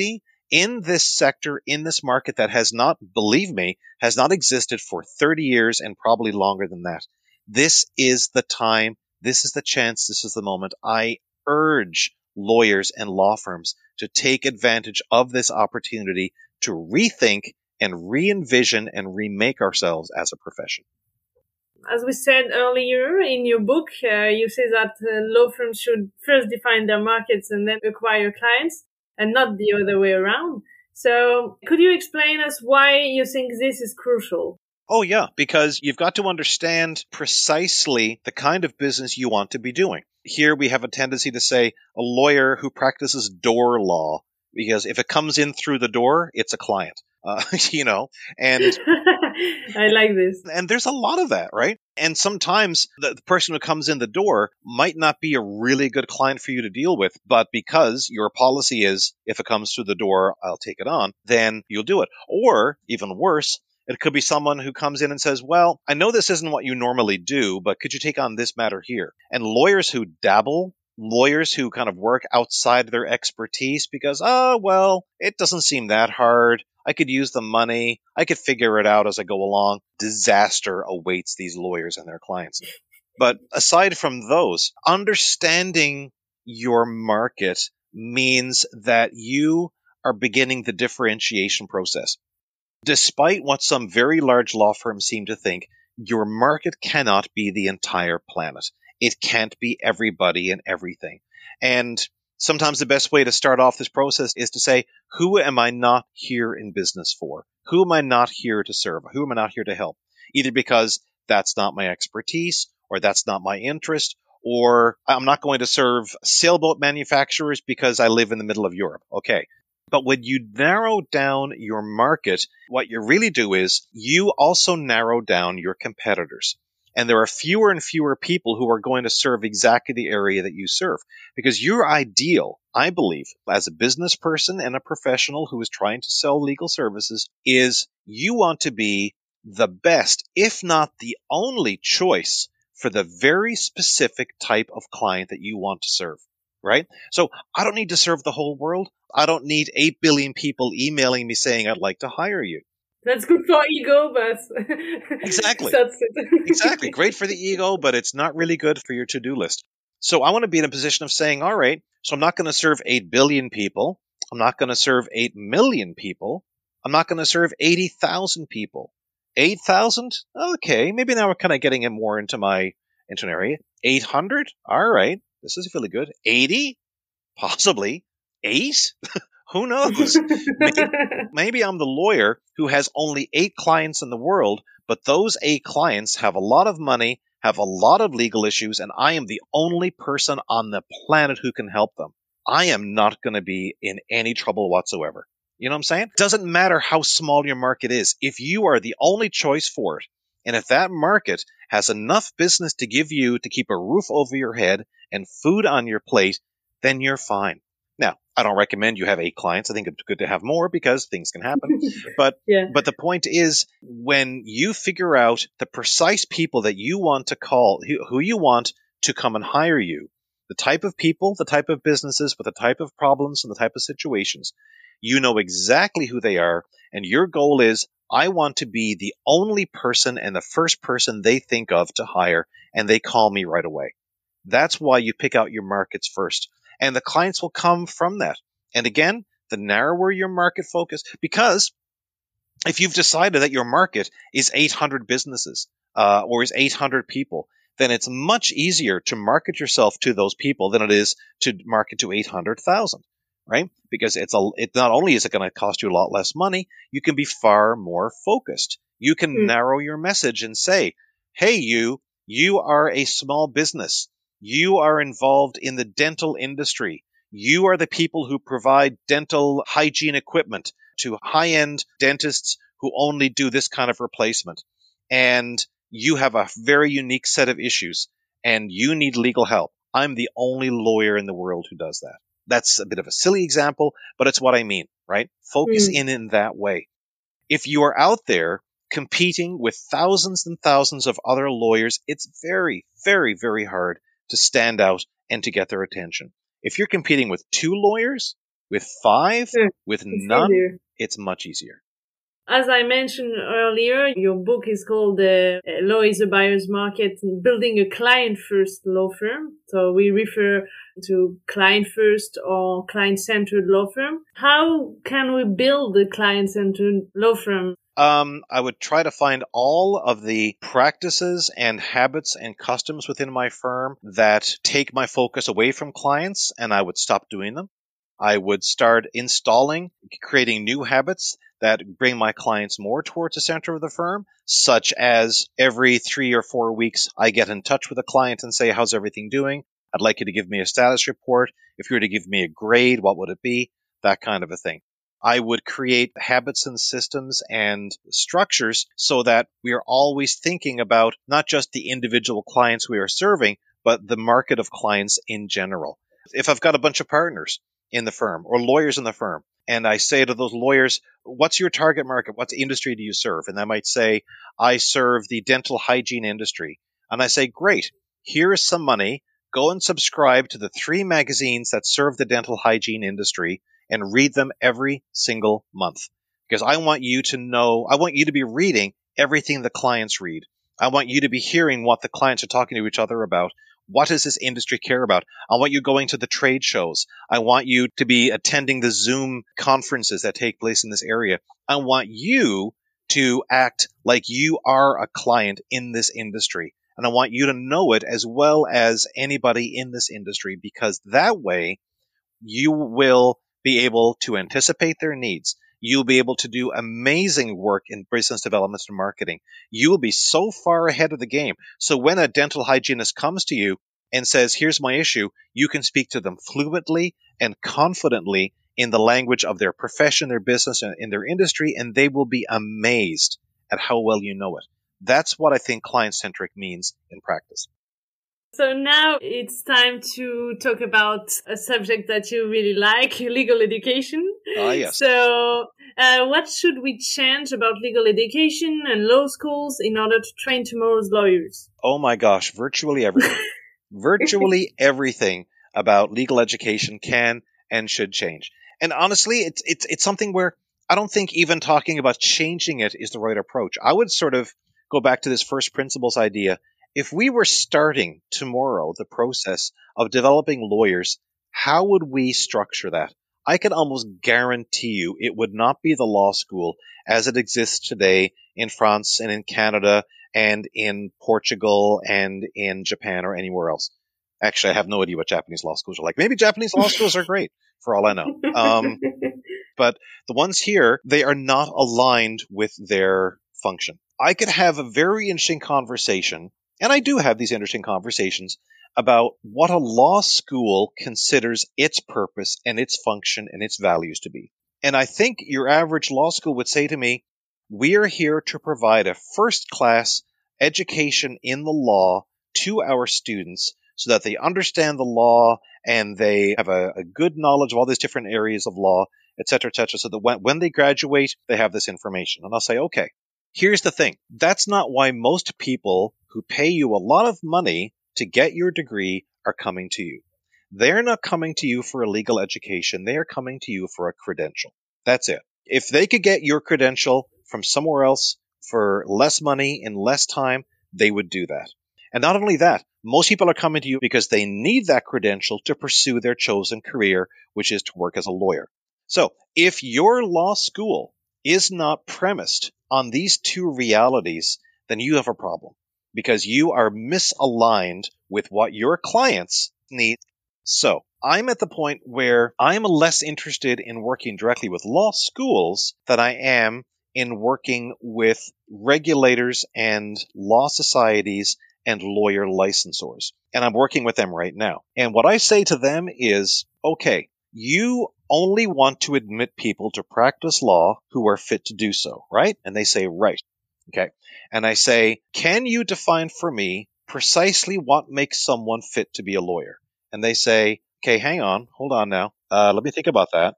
in this sector, in this market that has not, believe me, has not existed for 30 years and probably longer than that. This is the time, this is the chance, this is the moment. I urge lawyers and law firms to take advantage of this opportunity to rethink and re-envision and remake ourselves as a profession. As we said earlier in your book, you say that law firms should first define their markets and then acquire clients, and not the other way around. So could you explain us why you think this is crucial? Oh, yeah, because you've got to understand precisely the kind of business you want to be doing. Here we have a tendency to say a lawyer who practices door law, because if it comes in through the door, it's a client. And I like this. And there's a lot of that, right? And sometimes the person who comes in the door might not be a really good client for you to deal with, but because your policy is, if it comes through the door, I'll take it on, then you'll do it. Or even worse, it could be someone who comes in and says, well, I know this isn't what you normally do, but could you take on this matter here? And lawyers who dabble, lawyers who kind of work outside their expertise because, it doesn't seem that hard. I could use the money. I could figure it out as I go along. Disaster awaits these lawyers and their clients. But aside from those, understanding your market means that you are beginning the differentiation process. Despite what some very large law firms seem to think, your market cannot be the entire planet. It can't be everybody and everything. And sometimes the best way to start off this process is to say, who am I not here in business for? Who am I not here to serve? Who am I not here to help? Either because that's not my expertise, or that's not my interest, or I'm not going to serve sailboat manufacturers because I live in the middle of Europe. Okay. But when you narrow down your market, what you really do is you also narrow down your competitors. And there are fewer and fewer people who are going to serve exactly the area that you serve. Because your ideal, I believe, as a business person and a professional who is trying to sell legal services, is you want to be the best, if not the only choice for the very specific type of client that you want to serve. Right? So I don't need to serve the whole world. I don't need 8 billion people emailing me saying I'd like to hire you. That's good for ego, but Exactly. That's it. Exactly. Great for the ego, but it's not really good for your to-do list. So I want to be in a position of saying, all right, so I'm not going to serve 8 billion people. I'm not going to serve 8 million people. I'm not going to serve 80,000 people. 8,000? Okay, maybe now we're kind of getting it more into an area. 800? All right. This is really good. 80? Possibly. 8? Who knows? Maybe I'm the lawyer who has only 8 clients in the world, but those 8 clients have a lot of money, have a lot of legal issues, and I am the only person on the planet who can help them. I am not going to be in any trouble whatsoever. You know what I'm saying? It doesn't matter how small your market is. If you are the only choice for it, and if that market has enough business to give you to keep a roof over your head and food on your plate, then you're fine. Now, I don't recommend you have 8 clients. I think it's good to have more because things can happen. But the point is, when you figure out the precise people that you want to call, who you want to come and hire you, the type of people, the type of businesses with the type of problems and the type of situations, you know exactly who they are. And your goal is, I want to be the only person and the first person they think of to hire, and they call me right away. That's why you pick out your markets first. And the clients will come from that. And again, the narrower your market focus, because if you've decided that your market is 800 businesses or is 800 people, then it's much easier to market yourself to those people than it is to market to 800,000, right? Because it not only is it going to cost you a lot less money, you can be far more focused. You can narrow your message and say, hey, you are a small business. You are involved in the dental industry. You are the people who provide dental hygiene equipment to high-end dentists who only do this kind of replacement. And you have a very unique set of issues, and you need legal help. I'm the only lawyer in the world who does that. That's a bit of a silly example, but it's what I mean, right? Focus in that way. If you are out there competing with thousands and thousands of other lawyers, it's very, very, very hard to stand out and to get their attention. If you're competing with 2 lawyers, With 5, Yeah, with it's none, easier. it's much easier. As I mentioned earlier, your book is called Law is a Buyer's Market, Building a Client-First Law Firm. So we refer to client-first or client-centered law firm. How can we build a client-centered law firm? I would try to find all of the practices and habits and customs within my firm that take my focus away from clients, and I would stop doing them. I would start creating new habits that bring my clients more towards the center of the firm, such as every 3 or 4 weeks, I get in touch with a client and say, how's everything doing? I'd like you to give me a status report. If you were to give me a grade, what would it be? That kind of a thing. I would create habits and systems and structures so that we are always thinking about not just the individual clients we are serving, but the market of clients in general. If I've got a bunch of partners in the firm or lawyers in the firm, and I say to those lawyers, what's your target market? What industry do you serve? And they might say, I serve the dental hygiene industry. And I say, great, here is some money. Go and subscribe to the 3 magazines that serve the dental hygiene industry and read them every single month. Because I want you to be reading everything the clients read. I want you to be hearing what the clients are talking to each other about. What does this industry care about? I want you going to the trade shows. I want you to be attending the Zoom conferences that take place in this area. I want you to act like you are a client in this industry. And I want you to know it as well as anybody in this industry, because that way you will be able to anticipate their needs. You'll be able to do amazing work in business development and marketing. You will be so far ahead of the game. So when a dental hygienist comes to you and says, here's my issue, you can speak to them fluently and confidently in the language of their profession, their business, and in their industry, and they will be amazed at how well you know it. That's what I think client-centric means in practice. So now it's time to talk about a subject that you really like, legal education. Yes. So what should we change about legal education and law schools in order to train tomorrow's lawyers? Oh my gosh, virtually everything. Virtually everything about legal education can and should change. And honestly, it's something where I don't think even talking about changing it is the right approach. I would sort of go back to this first principles idea. If we were starting tomorrow the process of developing lawyers, how would we structure that? I can almost guarantee you it would not be the law school as it exists today in France and in Canada and in Portugal and in Japan or anywhere else. Actually, I have no idea what Japanese law schools are like. Maybe Japanese law schools are great, for all I know. But the ones here, they are not aligned with their function. I could have a very interesting conversation, and I do have these interesting conversations, about what a law school considers its purpose and its function and its values to be. And I think your average law school would say to me, we are here to provide a first-class education in the law to our students so that they understand the law and they have a good knowledge of all these different areas of law, et cetera, so that when they graduate, they have this information. And I'll say, okay, here's the thing. That's not why most people who pay you a lot of money to get your degree are coming to you. They're not coming to you for a legal education. They are coming to you for a credential. That's it. If they could get your credential from somewhere else for less money in less time, they would do that. And not only that, most people are coming to you because they need that credential to pursue their chosen career, which is to work as a lawyer. So if your law school is not premised on these two realities, then you have a problem because you are misaligned with what your clients need. So I'm at the point where I'm less interested in working directly with law schools than I am in working with regulators and law societies and lawyer licensors. And I'm working with them right now. And what I say to them is, okay, you only want to admit people to practice law who are fit to do so, right? And they say, right. Okay. And I say, can you define for me precisely what makes someone fit to be a lawyer? And they say, okay, hang on, hold on now. Let me think about that.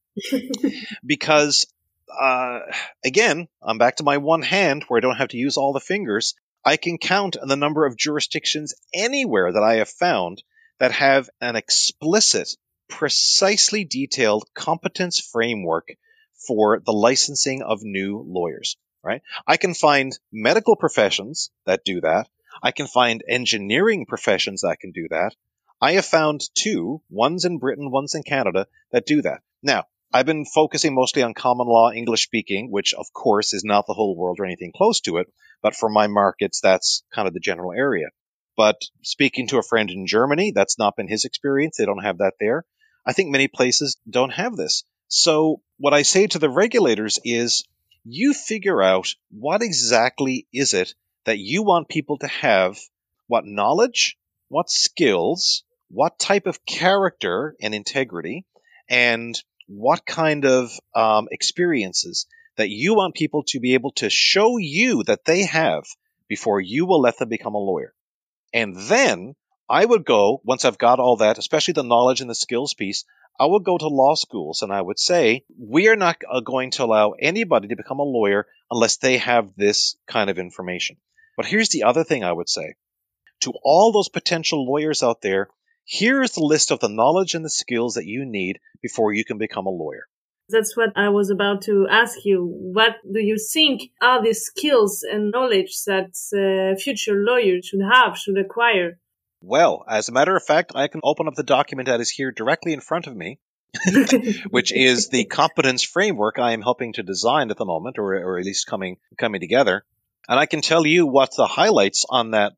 Because, again, I'm back to my one hand where I don't have to use all the fingers. I can count on the number of jurisdictions anywhere that I have found that have an explicit precisely detailed competence framework for the licensing of new lawyers, right? I can find medical professions that do that. I can find engineering professions that can do that. I have found two, one's in Britain, one's in Canada, that do that. Now, I've been focusing mostly on common law English speaking, which of course is not the whole world or anything close to it, but for my markets, that's kind of the general area. But speaking to a friend in Germany, that's not been his experience. They don't have that there. I think many places don't have this. So what I say to the regulators is, you figure out what exactly is it that you want people to have, what knowledge, what skills, what type of character and integrity, and what kind of experiences that you want people to be able to show you that they have before you will let them become a lawyer. And then I would go, once I've got all that, especially the knowledge and the skills piece, I would go to law schools and I would say, we are not going to allow anybody to become a lawyer unless they have this kind of information. But here's the other thing I would say. To all those potential lawyers out there, here is the list of the knowledge and the skills that you need before you can become a lawyer. That's what I was about to ask you. What do you think are the skills and knowledge that future lawyers should acquire? Well, as a matter of fact, I can open up the document that is here directly in front of me, which is the competence framework I am helping to design at the moment, or at least coming together. And I can tell you what the highlights on that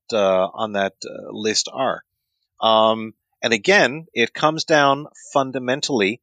list are. And again, it comes down fundamentally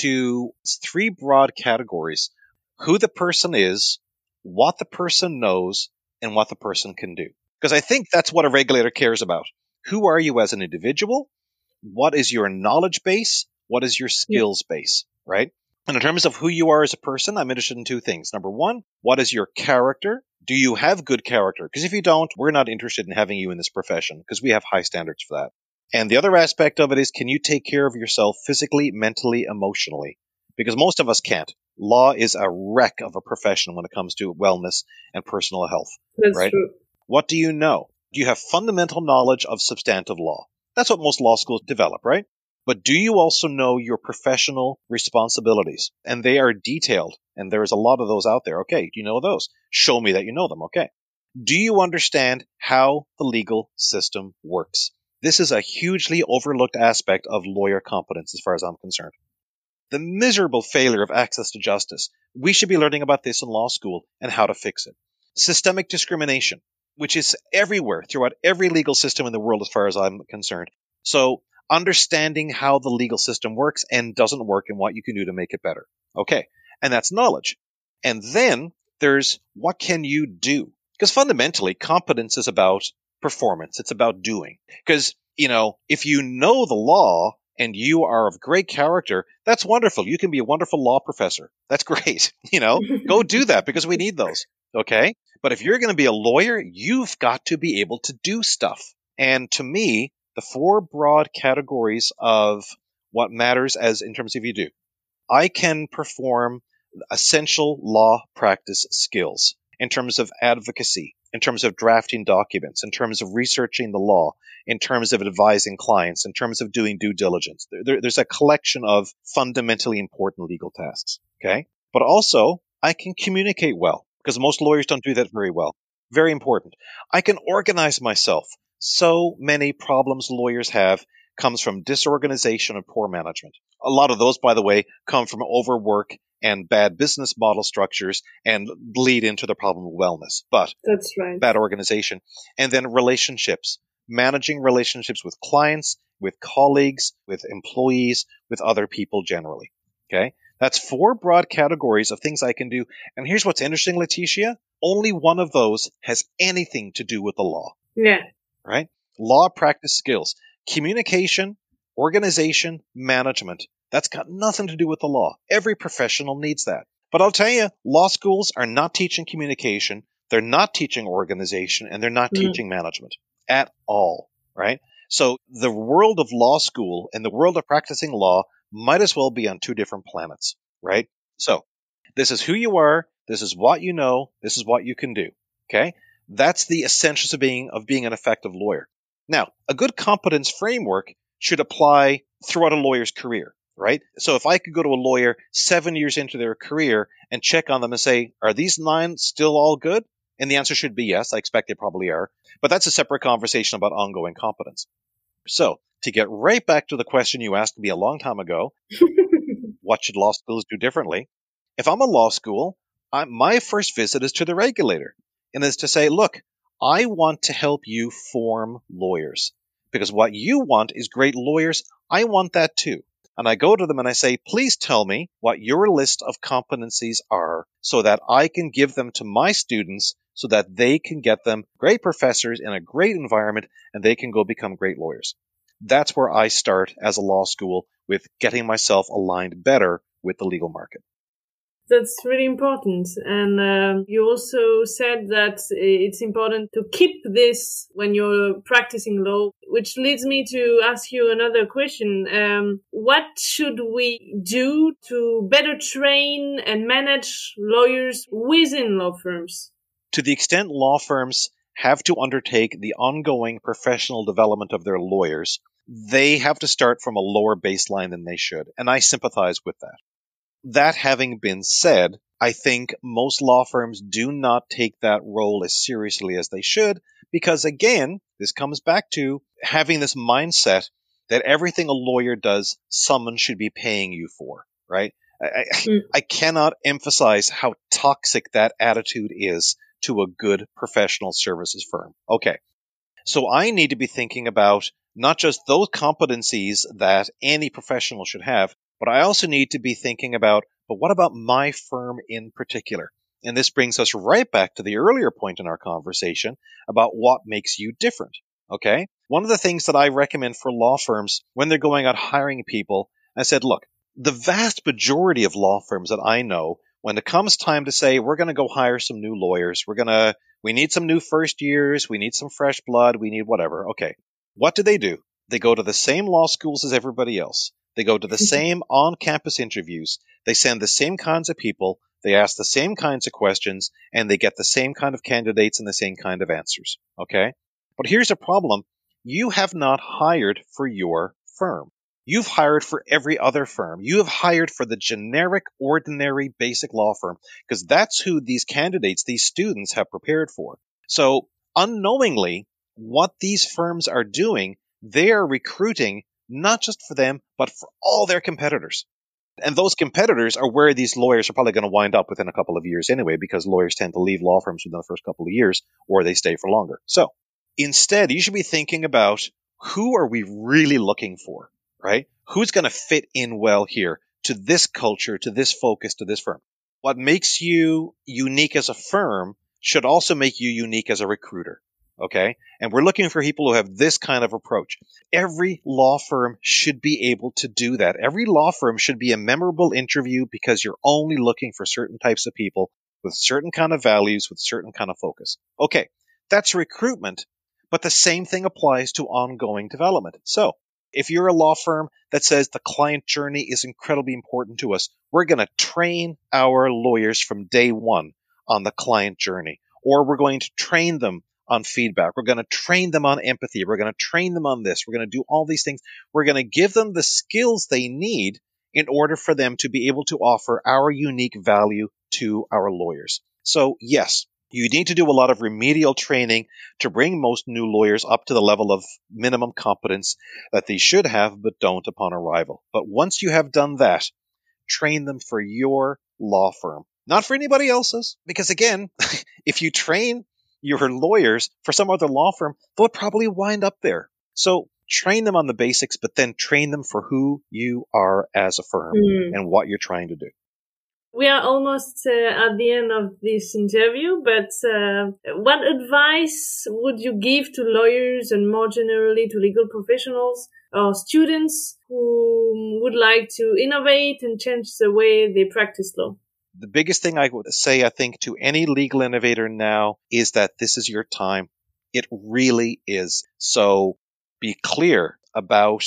to three broad categories: who the person is, what the person knows, and what the person can do. Because I think that's what a regulator cares about. Who are you as an individual? What is your knowledge base? What is your skills base, right? And in terms of who you are as a person, I'm interested in two things. Number one, what is your character? Do you have good character? Because if you don't, we're not interested in having you in this profession because we have high standards for that. And the other aspect of it is, can you take care of yourself physically, mentally, emotionally? Because most of us can't. Law is a wreck of a profession when it comes to wellness and personal health. That's right? true. What do you know? Do you have fundamental knowledge of substantive law? That's what most law schools develop, right? But do you also know your professional responsibilities? And they are detailed, and there's a lot of those out there. Okay, do you know those? Show me that you know them. Okay. Do you understand how the legal system works? This is a hugely overlooked aspect of lawyer competence as far as I'm concerned. The miserable failure of access to justice. We should be learning about this in law school and how to fix it. Systemic discrimination, which is everywhere throughout every legal system in the world as far as I'm concerned. So understanding how the legal system works and doesn't work and what you can do to make it better. Okay, and that's knowledge. And then there's what can you do? Because fundamentally, competence is about performance. It's about doing. Because, if you know the law and you are of great character, that's wonderful. You can be a wonderful law professor. That's great. Go do that because we need those. Okay? But if you're going to be a lawyer, you've got to be able to do stuff. And to me, the four broad categories of what matters as in terms of you do. I can perform essential law practice skills in terms of advocacy, in terms of drafting documents, in terms of researching the law, in terms of advising clients, in terms of doing due diligence. There's a collection of fundamentally important legal tasks, okay? But also, I can communicate well, because most lawyers don't do that very well. Very important. I can organize myself. So many problems lawyers have comes from disorganization and poor management. A lot of those, by the way, come from overwork and bad business model structures and lead into the problem of wellness. But that's right. Bad organization. And then relationships, managing relationships with clients, with colleagues, with employees, with other people generally. Okay? That's four broad categories of things I can do. And here's what's interesting, Leticia. Only one of those has anything to do with the law. Yeah. Right? Law practice skills. Communication, organization, management. That's got nothing to do with the law. Every professional needs that. But I'll tell you, law schools are not teaching communication, they're not teaching organization, and they're not teaching management at all, right? So the world of law school and the world of practicing law might as well be on two different planets, right? So this is who you are, this is what you know, this is what you can do, okay? That's the essentials of being an effective lawyer. Now, a good competence framework should apply throughout a lawyer's career. right? So if I could go to a lawyer 7 years into their career and check on them and say, are these 9 still all good? And the answer should be yes. I expect they probably are. But that's a separate conversation about ongoing competence. So to get right back to the question you asked me a long time ago, what should law schools do differently? If I'm a law school, my first visit is to the regulator, and is to say, look, I want to help you form lawyers, because what you want is great lawyers. I want that too. And I go to them and I say, please tell me what your list of competencies are so that I can give them to my students so that they can get them great professors in a great environment and they can go become great lawyers. That's where I start as a law school, with getting myself aligned better with the legal market. That's really important. And you also said that it's important to keep this when you're practicing law, which leads me to ask you another question. What should we do to better train and manage lawyers within law firms? To the extent law firms have to undertake the ongoing professional development of their lawyers, they have to start from a lower baseline than they should. And I sympathize with that. That having been said, I think most law firms do not take that role as seriously as they should, because again, this comes back to having this mindset that everything a lawyer does, someone should be paying you for, right? I cannot emphasize how toxic that attitude is to a good professional services firm. Okay, so I need to be thinking about not just those competencies that any professional should have, but I also need to be thinking about, but what about my firm in particular? And this brings us right back to the earlier point in our conversation about what makes you different. Okay? One of the things that I recommend for law firms when they're going out hiring people, I said, look, the vast majority of law firms that I know, when it comes time to say, we're going to go hire some new lawyers, we need some new first years, we need some fresh blood, we need whatever. Okay. What do? They go to the same law schools as everybody else. They go to the same on-campus interviews. They send the same kinds of people. They ask the same kinds of questions, and they get the same kind of candidates and the same kind of answers. Okay? But here's the problem. You have not hired for your firm. You've hired for every other firm. You have hired for the generic, ordinary, basic law firm, because that's who these candidates, these students, have prepared for. So, unknowingly, what these firms are doing, they are recruiting not just for them, but for all their competitors. And those competitors are where these lawyers are probably going to wind up within a couple of years anyway, because lawyers tend to leave law firms within the first couple of years, or they stay for longer. So instead, you should be thinking about, who are we really looking for, right? Who's going to fit in well here to this culture, to this focus, to this firm? What makes you unique as a firm should also make you unique as a recruiter. Okay? And we're looking for people who have this kind of approach. Every law firm should be able to do that. Every law firm should be a memorable interview, because you're only looking for certain types of people with certain kind of values, with certain kind of focus. Okay, that's recruitment, but the same thing applies to ongoing development. So, if you're a law firm that says the client journey is incredibly important to us, we're going to train our lawyers from day one on the client journey, or we're going to train them on feedback. We're going to train them on empathy. We're going to train them on this. We're going to do all these things. We're going to give them the skills they need in order for them to be able to offer our unique value to our lawyers. So yes, you need to do a lot of remedial training to bring most new lawyers up to the level of minimum competence that they should have but don't upon arrival. But once you have done that, train them for your law firm, not for anybody else's. Because again, if you train your lawyers for some other law firm, they'll probably wind up there. So train them on the basics, but then train them for who you are as a firm and what you're trying to do. We are almost at the end of this interview, but what advice would you give to lawyers and more generally to legal professionals or students who would like to innovate and change the way they practice law? The biggest thing I would say, I think, to any legal innovator now is that this is your time. It really is. So be clear about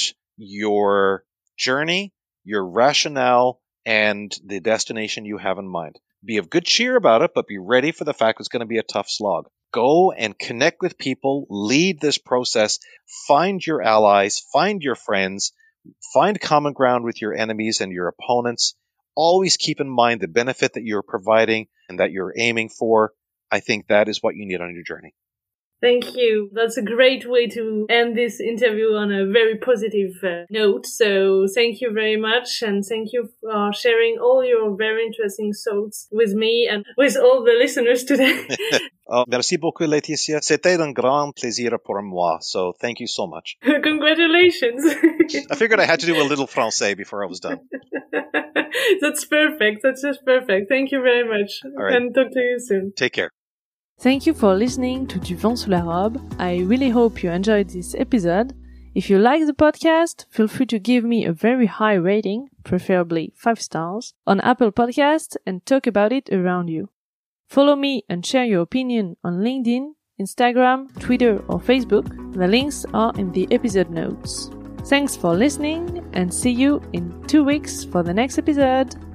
your journey, your rationale, and the destination you have in mind. Be of good cheer about it, but be ready for the fact it's going to be a tough slog. Go and connect with people, lead this process, find your allies, find your friends, Find common ground with your enemies and your opponents. Always keep in mind the benefit that you're providing and that you're aiming for. I think that is what you need on your journey. Thank you. That's a great way to end this interview on a very positive note. So thank you very much. And thank you for sharing all your very interesting thoughts with me and with all the listeners today. Merci beaucoup, Laetitia. C'était un grand plaisir pour moi. So thank you so much. Congratulations. I figured I had to do a little Francais before I was done. That's perfect. That's just perfect. Thank you very much. All right. And talk to you soon. Take care. Thank you for listening to Du Vent Sous la Robe. I really hope you enjoyed this episode. If you like the podcast, feel free to give me a very high rating, preferably 5 stars, on Apple Podcasts and talk about it around you. Follow me and share your opinion on LinkedIn, Instagram, Twitter or Facebook. The links are in the episode notes. Thanks for listening and see you in 2 weeks for the next episode.